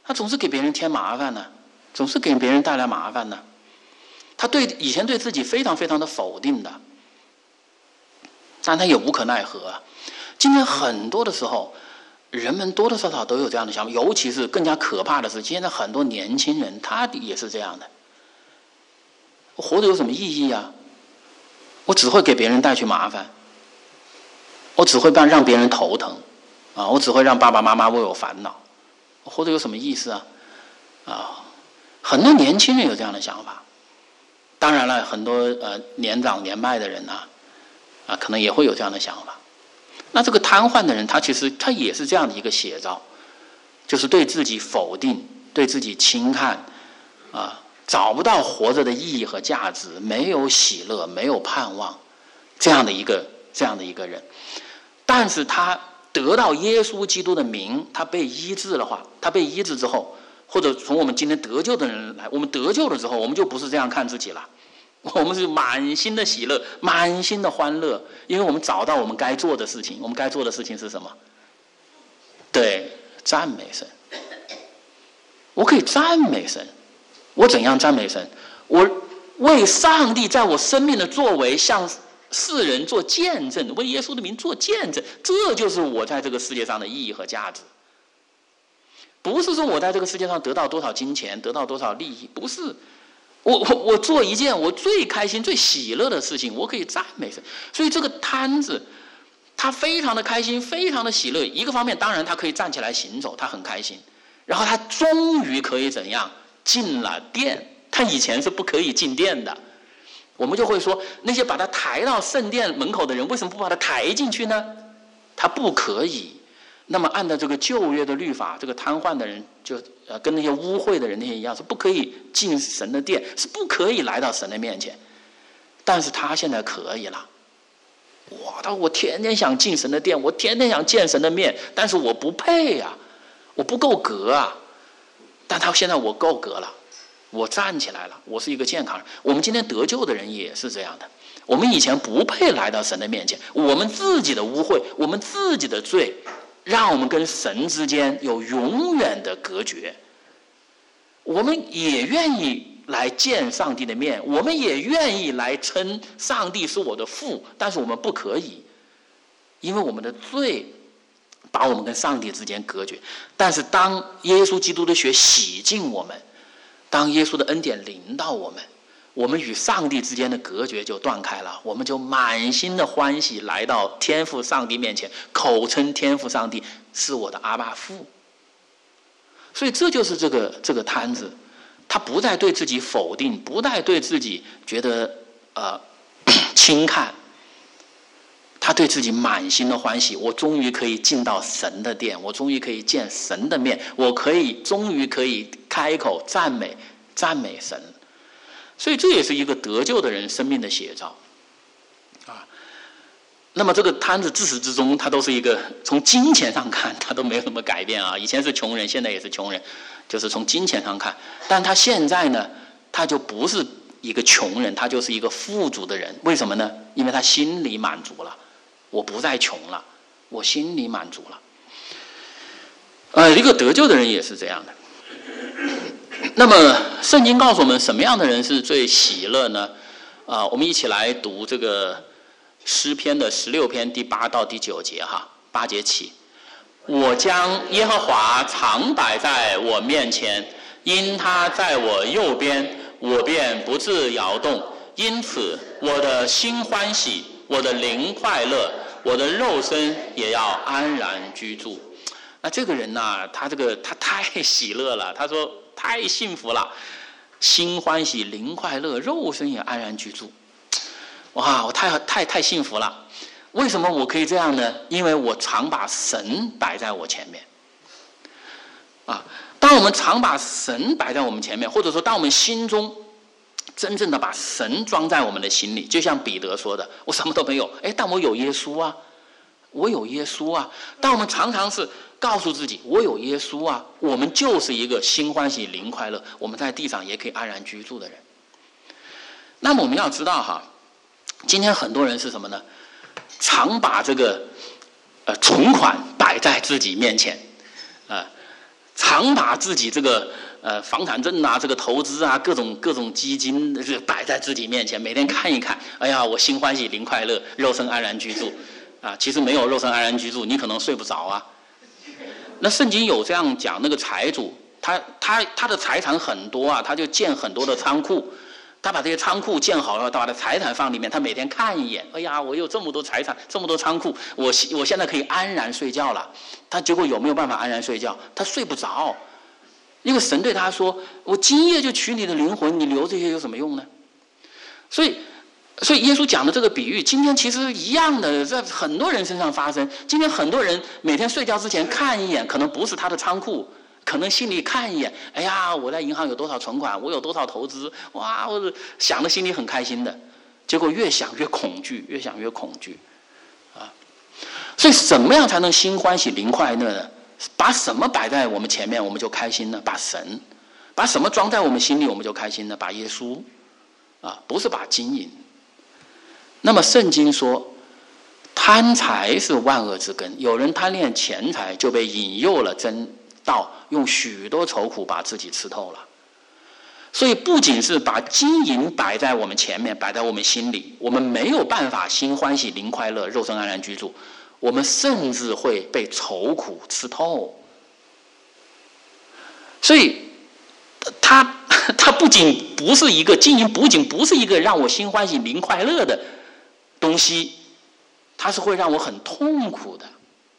他总是给别人添麻烦呢，总是给别人带来麻烦呢。他以前对自己非常非常的否定的，但他也无可奈何啊。今天很多的时候，人们多多少少都有这样的想法，尤其是更加可怕的是，现在很多年轻人他也是这样的。我活着有什么意义啊？我只会给别人带去麻烦，我只会让别人头疼啊！我只会让爸爸妈妈为我烦恼，我活着有什么意思啊？啊，很多年轻人有这样的想法。当然了，很多年长年迈的人可能也会有这样的想法。那这个瘫痪的人，他其实他也是这样的一个写照，就是对自己否定，对自己轻看找不到活着的意义和价值，没有喜乐，没有盼望，这样的一个人。但是他得到耶稣基督的名，他被医治的话，他被医治之后，或者从我们今天得救的人来，我们得救了之后，我们就不是这样看自己了，我们是满心的喜乐，满心的欢乐，因为我们找到我们该做的事情。我们该做的事情是什么？对，赞美神。我可以赞美神。我怎样赞美神？我为上帝在我生命的作为向世人做见证，为耶稣的名做见证，这就是我在这个世界上的意义和价值。不是说我在这个世界上得到多少金钱，得到多少利益，不是。我做一件我最开心最喜乐的事情，我可以赞美神。所以这个瘫子他非常的开心，非常的喜乐。一个方面当然他可以站起来行走，他很开心，然后他终于可以怎样进了殿，他以前是不可以进殿的。我们就会说，那些把他抬到圣殿门口的人，为什么不把他抬进去呢？他不可以。那么按照这个旧约的律法，这个瘫痪的人就跟那些污秽的人那些一样，是不可以进神的殿，是不可以来到神的面前。但是他现在可以了。我天天想进神的殿，我天天想见神的面，但是我不配啊，我不够格啊。但他现在我够格了，我站起来了，我是一个健康人。我们今天得救的人也是这样的，我们以前不配来到神的面前，我们自己的污秽，我们自己的罪，让我们跟神之间有永远的隔绝。我们也愿意来见上帝的面，我们也愿意来称上帝是我的父，但是我们不可以，因为我们的罪把我们跟上帝之间隔绝。但是当耶稣基督的血洗净我们，当耶稣的恩典临到我们，我们与上帝之间的隔绝就断开了，我们就满心的欢喜来到天父上帝面前，口称天父上帝是我的阿爸父。所以这就是这个瘫子，他不再对自己否定，不再对自己觉得轻看，他对自己满心的欢喜。我终于可以进到神的殿，我终于可以见神的面，我终于可以开口赞美神。所以这也是一个得救的人生命的写照那么这个瘫子自始至终他都是一个，从金钱上看他都没有什么改变以前是穷人，现在也是穷人，就是从金钱上看。但他现在呢，他就不是一个穷人，他就是一个富足的人。为什么呢？因为他心里满足了，我不再穷了，我心里满足了。一个得救的人也是这样的。那么圣经告诉我们什么样的人是最喜乐呢？我们一起来读这个诗篇的16篇第8到第9节8节起。我将耶和华常摆在我面前，因他在我右边，我便不致摇动。因此我的心欢喜，我的灵快乐，我的肉身也要安然居住。那这个人呢，他太喜乐了，他说太幸福了，心欢喜，灵快乐，肉身也安然居住。哇，我太幸福了。为什么我可以这样呢？因为我常把神摆在我前面当我们常把神摆在我们前面，或者说当我们心中真正的把神装在我们的心里，就像彼得说的，我什么都没有，但我有耶稣啊，我有耶稣啊。当我们常常是告诉自己我有耶稣啊，我们就是一个心欢喜灵快乐，我们在地上也可以安然居住的人。那么我们要知道今天很多人是什么呢？常把这个存款摆在自己面前常把自己这个房产证啊、这个投资啊、各种基金摆在自己面前，每天看一看，哎呀，我心欢喜灵快乐，肉身安然居住啊。其实没有肉身安然居住，你可能睡不着啊。那圣经有这样讲，那个财主他的财产很多啊，他就建很多的仓库。他把这些仓库建好了，他把他财产放里面，他每天看一眼，哎呀，我有这么多财产，这么多仓库，我现在可以安然睡觉了。他结果有没有办法安然睡觉？他睡不着，因为神对他说：“我今夜就取你的灵魂，你留这些有什么用呢？”所以耶稣讲的这个比喻，今天其实一样的，在很多人身上发生。今天很多人每天睡觉之前看一眼，可能不是他的仓库。可能心里看一眼，哎呀，我在银行有多少存款，我有多少投资，哇，我想的心里很开心的，结果越想越恐惧，越想越恐惧，啊！所以怎么样才能心欢喜灵快乐呢？把什么摆在我们前面，我们就开心呢？把什么装在我们心里，我们就开心呢？把耶稣，啊，不是把金银。那么圣经说，贪财是万恶之根，有人贪恋钱财，就被引诱了真道，用许多愁苦把自己吃透了。所以不仅是把金银摆在我们前面，摆在我们心里，我们没有办法心欢喜灵快乐，肉身安然居住，我们甚至会被愁苦吃透。所以它不仅不是一个金银，不仅不是一个让我心欢喜灵快乐的东西，它是会让我很痛苦的。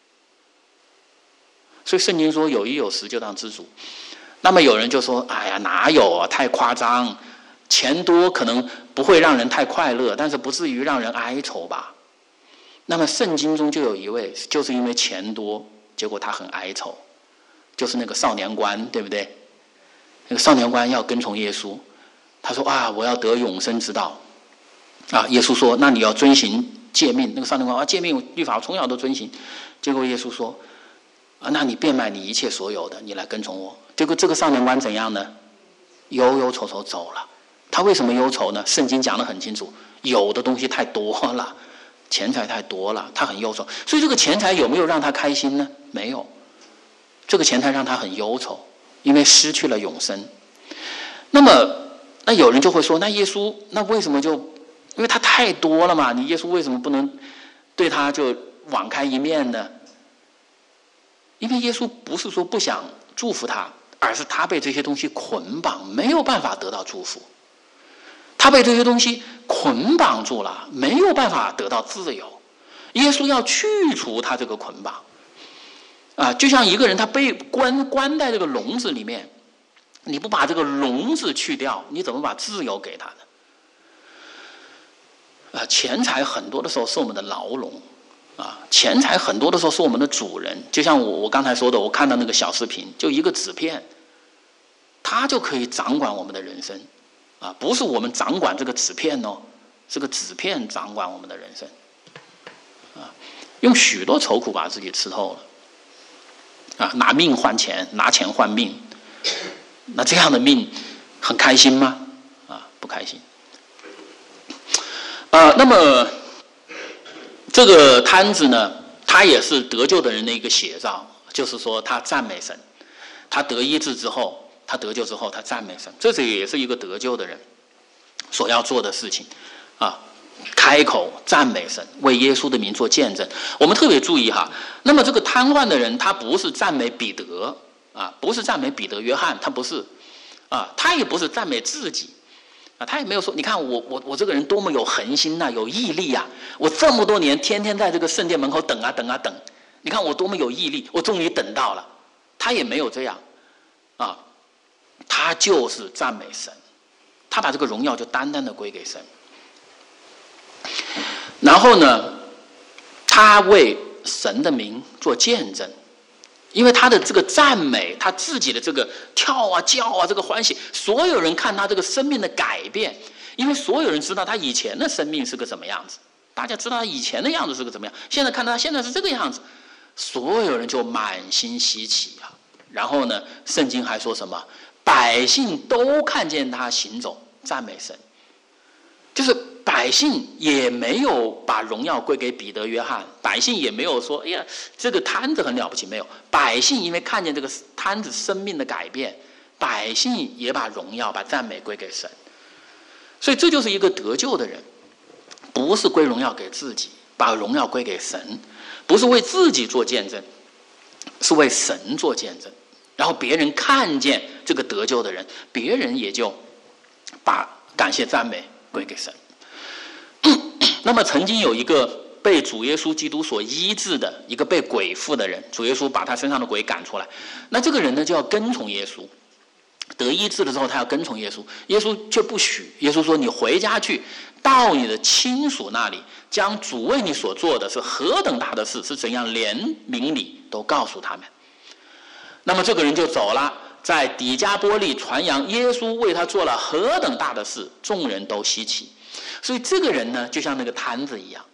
所以圣经说有衣有食就当知足。那么有人就说，哎呀，哪有啊，太夸张，钱多可能不会让人太快乐，但是不至于让人哀愁吧。那么圣经中就有一位，就是因为钱多，结果他很哀愁，就是那个少年官，对不对？那个少年官要跟从耶稣，他说啊，我要得永生之道啊。耶稣说，那你要遵行诫命。那个少年官啊，诫命律法我从小都遵行。结果耶稣说，啊，那你变卖你一切所有的，你来跟从我。结果这个少年官怎样呢？忧忧愁愁走了。他为什么忧愁呢？圣经讲得很清楚，有的东西太多了，钱财太多了，他很忧愁。所以这个钱财有没有让他开心呢？没有。这个钱财让他很忧愁，因为失去了永生。那有人就会说，那耶稣那为什么就因为他太多了嘛？你耶稣为什么不能对他就网开一面呢？因为耶稣不是说不想祝福他，而是他被这些东西捆绑，没有办法得到祝福。他被这些东西捆绑住了，没有办法得到自由。耶稣要去除他这个捆绑啊，就像一个人他被关在这个笼子里面，你不把这个笼子去掉，你怎么把自由给他呢？钱财很多的时候是我们的牢笼啊，钱财很多的时候是我们的主人。就像我刚才说的，我看到那个小视频，就一个纸片，它就可以掌管我们的人生啊，不是我们掌管这个纸片哦，这个纸片掌管我们的人生啊，用许多愁苦把自己吃透了啊，拿命换钱，拿钱换命，那这样的命很开心吗？啊，不开心。那么这个摊子呢，他也是得救的人的一个写照，就是说他赞美神，他得医治之后，他得救之后，他赞美神，这也是一个得救的人所要做的事情啊，开口赞美神，为耶稣的名做见证。我们特别注意哈，那么这个瘫痪的人，他不是赞美彼得啊，不是赞美彼得、约翰，他不是啊，他也不是赞美自己。啊，他也没有说，你看我这个人多么有恒心呐，有毅力啊！我这么多年天天在这个圣殿门口等啊等啊等，你看我多么有毅力，我终于等到了。他也没有这样，啊，他就是赞美神，他把这个荣耀就单单的归给神。然后呢，他为神的名做见证。因为他的这个赞美，他自己的这个跳啊叫啊，这个欢喜，所有人看他这个生命的改变，因为所有人知道他以前的生命是个什么样子，大家知道他以前的样子是个怎么样，现在看他现在是这个样子，所有人就满心稀奇啊。然后呢，圣经还说什么？百姓都看见他行走，赞美神。就是百姓也没有把荣耀归给彼得、约翰，百姓也没有说：“哎呀，这个摊子很了不起。”没有，百姓因为看见这个摊子生命的改变，百姓也把荣耀、把赞美归给神。所以这就是一个得救的人，不是归荣耀给自己，把荣耀归给神，不是为自己做见证，是为神做见证。然后别人看见这个得救的人，别人也就把感谢赞美归给神。那么曾经有一个被主耶稣基督所医治的一个被鬼附的人，主耶稣把他身上的鬼赶出来，那这个人呢就要跟从耶稣，得医治了之后他要跟从耶稣，耶稣却不许。耶稣说：“你回家去，到你的亲属那里，将主为你所做的是何等大的事，是怎样怜悯你，都告诉他们。”那么这个人就走了，在底加波利传扬耶稣为他做了何等大的事，众人都稀奇。所以这个人呢，就像那个摊子一样，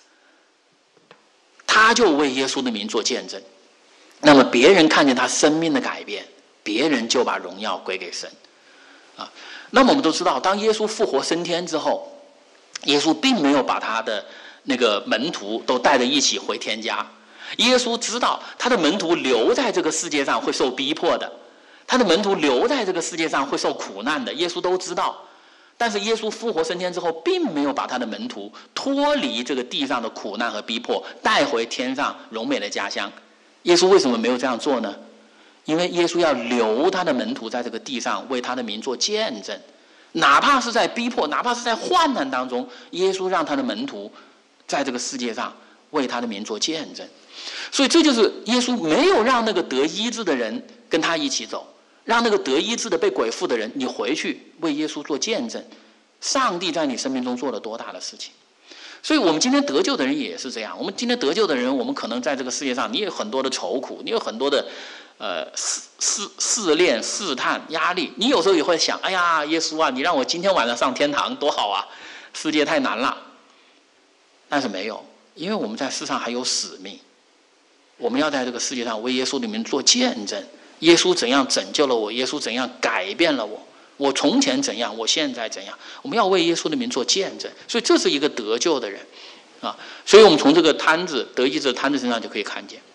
他就为耶稣的名做见证。那么别人看见他生命的改变，别人就把荣耀归给神。那么我们都知道，当耶稣复活升天之后，耶稣并没有把他的那个门徒都带着一起回天家。耶稣知道他的门徒留在这个世界上会受逼迫的，他的门徒留在这个世界上会受苦难的，耶稣都知道。但是耶稣复活升天之后，并没有把他的门徒脱离这个地上的苦难和逼迫，带回天上荣美的家乡。耶稣为什么没有这样做呢？因为耶稣要留他的门徒在这个地上为他的名做见证，哪怕是在逼迫，哪怕是在患难当中，耶稣让他的门徒在这个世界上为他的名做见证。所以这就是耶稣没有让那个得医治的人跟他一起走，让那个得医治的被鬼附的人，你回去为耶稣做见证，上帝在你生命中做了多大的事情。所以我们今天得救的人也是这样，我们今天得救的人，我们可能在这个世界上，你有很多的愁苦，你有很多的试炼、试探、压力，你有时候也会想：哎呀，耶稣啊，你让我今天晚上上天堂多好啊，世界太难了。但是没有，因为我们在世上还有使命，我们要在这个世界上为耶稣的名做见证。耶稣怎样拯救了我，耶稣怎样改变了我，我从前怎样，我现在怎样，我们要为耶稣的名做见证。所以这是一个得救的人啊。所以我们从这个摊子得医治的摊子身上就可以看见。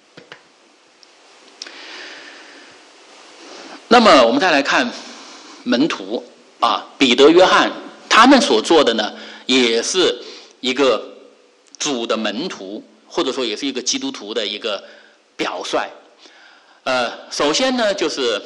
那么我们再来看门徒啊，彼得、约翰，他们所做的呢，也是一个主的门徒，或者说也是一个基督徒的一个表率。首先呢，就是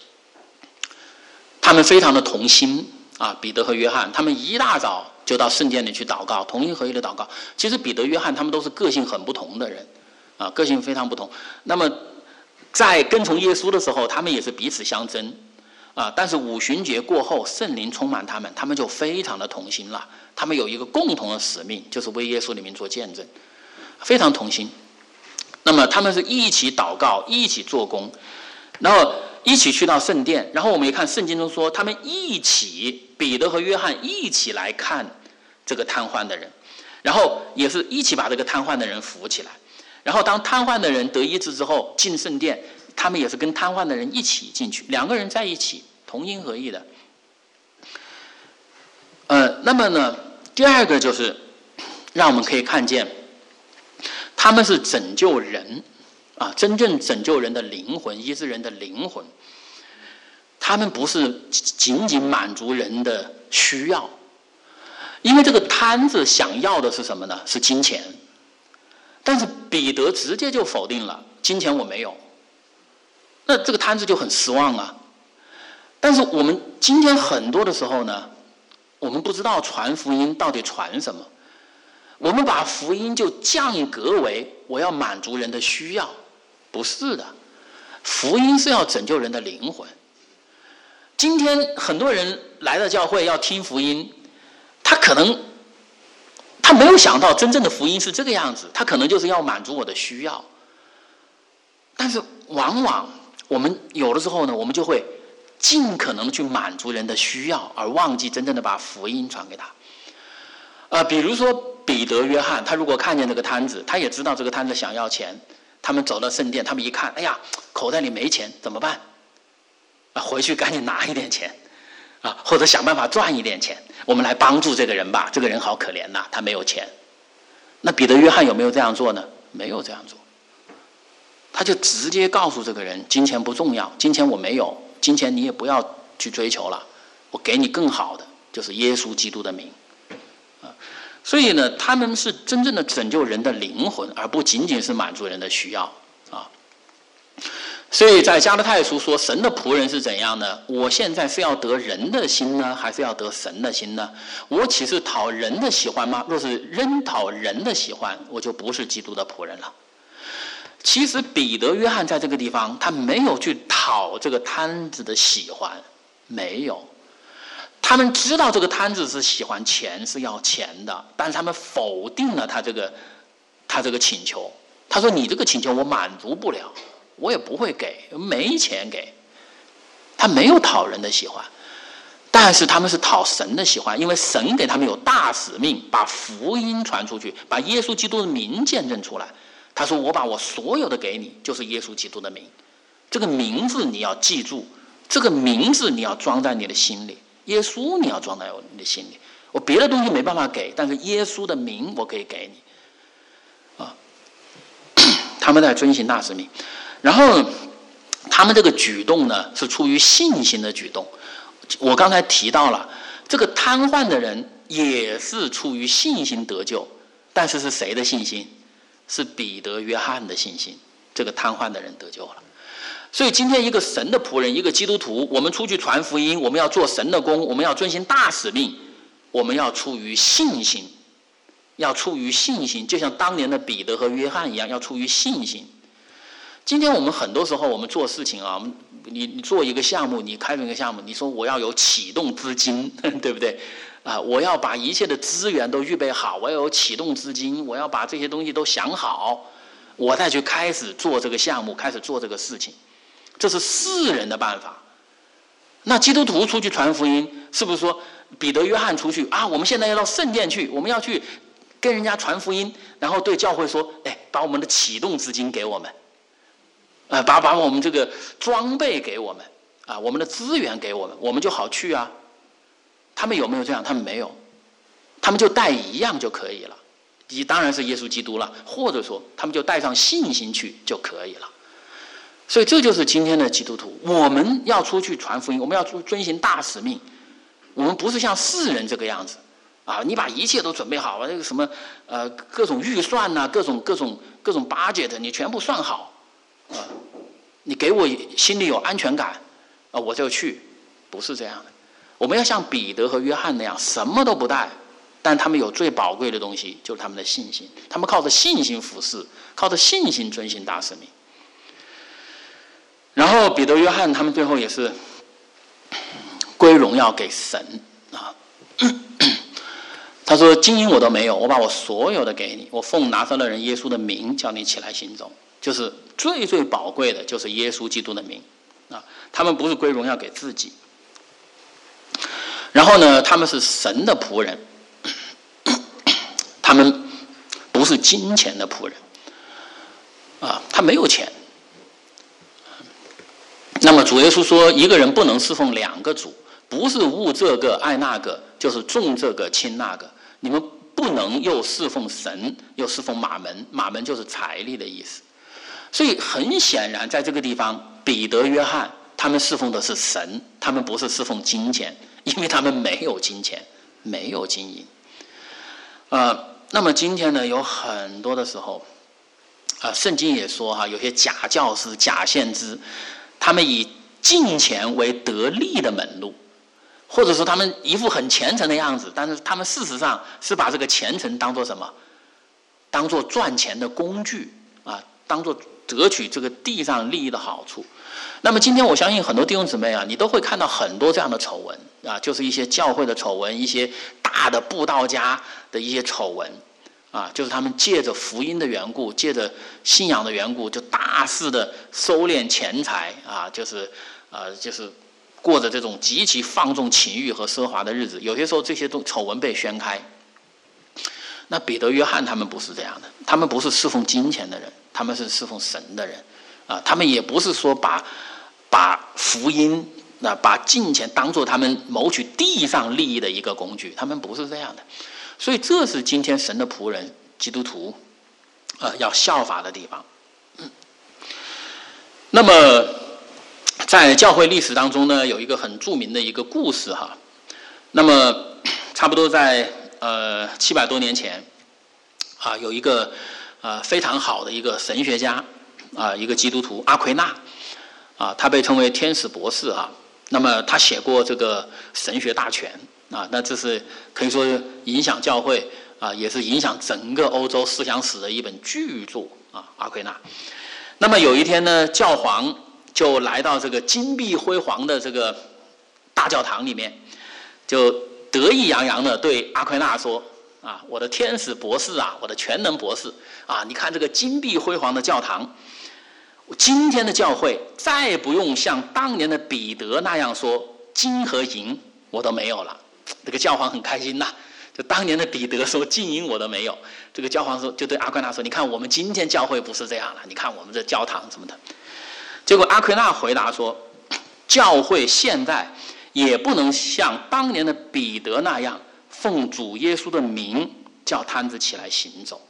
他们非常的同心啊，彼得和约翰，他们一大早就到圣殿里去祷告，同心合一的祷告。其实彼得、约翰他们都是个性很不同的人啊，个性非常不同。那么在跟从耶稣的时候，他们也是彼此相争啊。但是五旬节过后，圣灵充满他们，他们就非常的同心了。他们有一个共同的使命，就是为耶稣的名做见证，非常同心。那么他们是一起祷告，一起做工，然后一起去到圣殿。然后我们也看圣经中说，他们一起，彼得和约翰一起来看这个瘫痪的人，然后也是一起把这个瘫痪的人扶起来。然后当瘫痪的人得医治之后进圣殿，他们也是跟瘫痪的人一起进去，两个人在一起同心合意的。那么呢，第二个就是让我们可以看见他们是拯救人啊，真正拯救人的灵魂，医治人的灵魂。他们不是仅仅满足人的需要，因为这个摊子想要的是什么呢？是金钱。但是彼得直接就否定了，金钱我没有。那这个摊子就很失望啊。但是我们今天很多的时候呢，我们不知道传福音到底传什么，我们把福音就降格为我要满足人的需要，不是的，福音是要拯救人的灵魂。今天很多人来到教会要听福音，他没有想到真正的福音是这个样子，他可能就是要满足我的需要。但是往往我们有的时候呢，我们就会尽可能去满足人的需要，而忘记真正的把福音传给他。比如说彼得、约翰，他如果看见这个摊子，他也知道这个摊子想要钱，他们走到圣殿，他们一看，哎呀，口袋里没钱怎么办？回去赶紧拿一点钱啊，或者想办法赚一点钱我们来帮助这个人吧，这个人好可怜呐，他没有钱。那彼得约翰有没有这样做呢？没有这样做，他就直接告诉这个人，金钱不重要，金钱我没有，金钱你也不要去追求了，我给你更好的，就是耶稣基督的名。所以呢，他们是真正的拯救人的灵魂，而不仅仅是满足人的需要啊。所以在加拉太书说，神的仆人是怎样呢？我现在是要得人的心呢，还是要得神的心呢？我岂是讨人的喜欢吗？若是仍讨人的喜欢，我就不是基督的仆人了。其实彼得、约翰在这个地方，他没有去讨这个摊子的喜欢，没有。他们知道这个摊子是喜欢钱，是要钱的，但是他们否定了他这个请求。他说：“你这个请求我满足不了，我也不会给，没钱给。”他没有讨人的喜欢，但是他们是讨神的喜欢，因为神给他们有大使命，把福音传出去，把耶稣基督的名见证出来。他说：“我把我所有的给你，就是耶稣基督的名。这个名字你要记住，这个名字你要装在你的心里。”耶稣你要装在你的心里，我别的东西没办法给，但是耶稣的名我可以给你啊。他们在遵行大使命，然后他们这个举动呢是出于信心的举动。我刚才提到了这个瘫痪的人也是出于信心得救，但是是谁的信心？是彼得、约翰的信心。这个瘫痪的人得救了。所以今天一个神的仆人，一个基督徒，我们出去传福音，我们要做神的工，我们要遵行大使命，我们要出于信心，要出于信心，就像当年的彼得和约翰一样，要出于信心。今天我们很多时候我们做事情啊，你做一个项目，你开展一个项目，你说我要有启动资金，对不对？我要把一切的资源都预备好，我要有启动资金，我要把这些东西都想好，我再去开始做这个项目，开始做这个事情。这是世人的办法。那基督徒出去传福音，是不是说彼得、约翰出去啊？我们现在要到圣殿去，我们要去跟人家传福音，然后对教会说：“哎，把我们的启动资金给我们，把我们这个装备给我们啊，我们的资源给我们，我们就好去啊。”他们有没有这样？他们没有，他们就带一样就可以了，当然是耶稣基督了，或者说他们就带上信心去就可以了。所以这就是今天的基督徒，我们要出去传福音，我们要遵行大使命。我们不是像世人这个样子啊！你把一切都准备好，那个什么各种预算呐、各种 budget， 你全部算好啊！你给我心里有安全感啊，我就去。不是这样的，我们要像彼得和约翰那样，什么都不带，但他们有最宝贵的东西，就是他们的信心。他们靠着信心服侍，靠着信心遵行大使命。然后彼得、约翰他们最后也是归荣耀给神啊。他说：“金银我都没有，我把我所有的给你，我奉拿撒勒人耶稣的名叫你起来行走。”就是最最宝贵的，就是耶稣基督的名啊。他们不是归荣耀给自己。然后呢，他们是神的仆人，他们不是金钱的仆人啊。他没有钱。那么主耶稣说，一个人不能侍奉两个主，不是恶这个爱那个，就是重这个轻那个。你们不能又侍奉神，又侍奉马门，马门就是财力的意思。所以很显然，在这个地方，彼得、约翰他们侍奉的是神，他们不是侍奉金钱，因为他们没有金钱，没有金银。那么今天呢，有很多的时候，圣经也说哈，有些假教师、假先知。他们以金钱为得利的门路，或者说他们一副很虔诚的样子，但是他们事实上是把这个虔诚当作什么？当作赚钱的工具啊，当作得取这个地上利益的好处。那么今天我相信很多弟兄姊妹啊，你都会看到很多这样的丑闻啊，就是一些教会的丑闻，一些大的布道家的一些丑闻。就是他们借着福音的缘故，借着信仰的缘故，就大肆的收敛钱财啊，就是过着这种极其放纵情欲和奢华的日子。有些时候这些丑闻被宣开。那彼得、约翰他们不是这样的，他们不是侍奉金钱的人，他们是侍奉神的人啊。他们也不是说把福音那把金钱当作他们谋取地上利益的一个工具，他们不是这样的。所以这是今天神的仆人基督徒要效法的地方。那么在教会历史当中呢，有一个很著名的一个故事哈。那么差不多在700多年前有一个非常好的一个神学家一个基督徒阿奎那他被称为天使博士哈。那么他写过这个神学大全那这是可以说影响教会也是影响整个欧洲思想史的一本巨著阿奎那。那么有一天呢，教皇就来到这个金碧辉煌的这个大教堂里面，就得意洋洋地对阿奎那说我的天使博士我的全能博士你看这个金碧辉煌的教堂，今天的教会再也不用像当年的彼得那样说金和银我都没有了。这个教皇很开心就当年的彼得说金银我都没有，这个教皇说就对阿奎那说，你看我们今天教会不是这样了，你看我们这教堂什么的。结果阿奎那回答说，教会现在也不能像当年的彼得那样奉主耶稣的名叫摊子起来行走，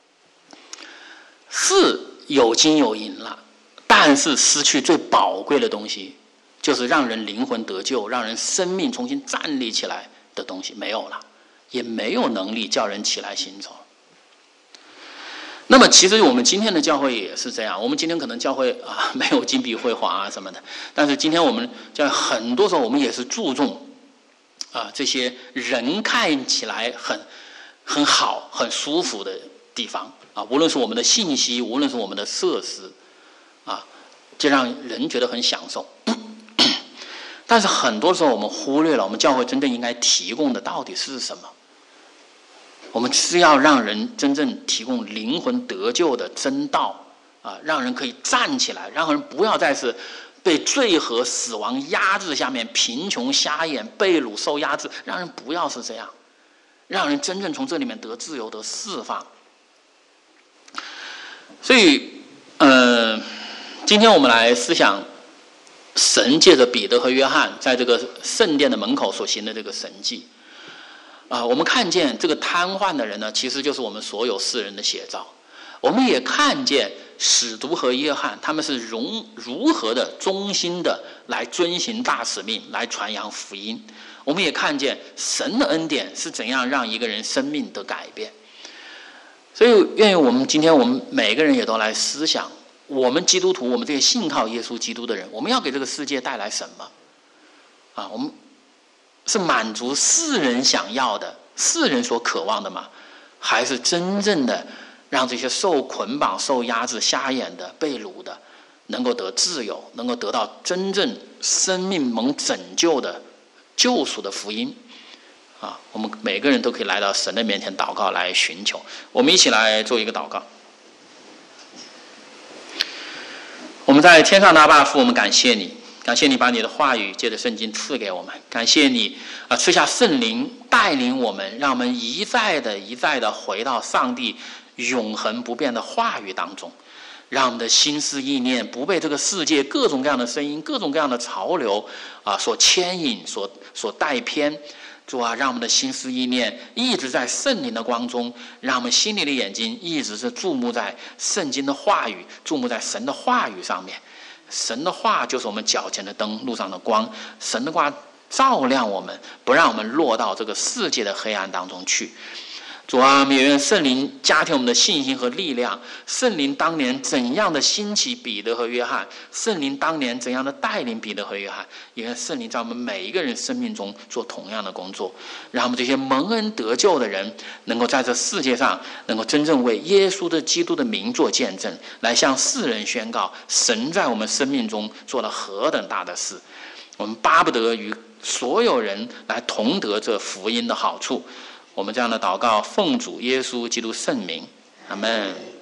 是有金有银了，但是失去最宝贵的东西，就是让人灵魂得救，让人生命重新站立起来的东西没有了，也没有能力叫人起来行走。那么其实我们今天的教会也是这样，我们今天可能教会没有金碧辉煌什么的，但是今天我们教会很多时候我们也是注重这些人看起来很好很舒服的地方无论是我们的信息，无论是我们的设施就让人觉得很享受。但是很多时候我们忽略了我们教会真正应该提供的到底是什么。我们是要让人真正提供灵魂得救的真道让人可以站起来，让人不要再是被罪和死亡压制下面，贫穷瞎眼被掳受压制，让人不要是这样，让人真正从这里面得自由得释放。所以今天我们来思想神借着彼得和约翰在这个圣殿的门口所行的这个神迹我们看见这个瘫痪的人呢，其实就是我们所有世人的写照。我们也看见使徒和约翰他们是如何的忠心的来遵行大使命，来传扬福音。我们也看见神的恩典是怎样让一个人生命的改变。所以愿意我们今天我们每个人也都来思想，我们基督徒，我们这些信靠耶稣基督的人，我们要给这个世界带来什么我们是满足世人想要的，世人所渴望的吗？还是真正的让这些受捆绑受压制瞎眼的被掳的能够得自由，能够得到真正生命蒙拯救的救赎的福音我们每个人都可以来到神的面前祷告来寻求。我们一起来做一个祷告。我们在天上的阿爸父，我们感谢你，感谢你把你的话语借着圣经赐给我们，感谢你赐下圣灵带领我们，让我们一再的回到上帝永恒不变的话语当中，让我们的心思意念不被这个世界各种各样的声音各种各样的潮流所牵引所带偏。主让我们的心思意念一直在圣灵的光中，让我们心里的眼睛一直是注目在圣经的话语，注目在神的话语上面。神的话就是我们脚前的灯，路上的光。神的话照亮我们，不让我们落到这个世界的黑暗当中去。主我们也愿圣灵加添我们的信心和力量。圣灵当年怎样的兴起彼得和约翰，圣灵当年怎样的带领彼得和约翰，也愿圣灵在我们每一个人生命中做同样的工作，让我们这些蒙恩得救的人能够在这世界上能够真正为耶稣的基督的名做见证，来向世人宣告神在我们生命中做了何等大的事。我们巴不得与所有人来同得这福音的好处。我们这样的祷告奉主耶稣基督圣名，阿们。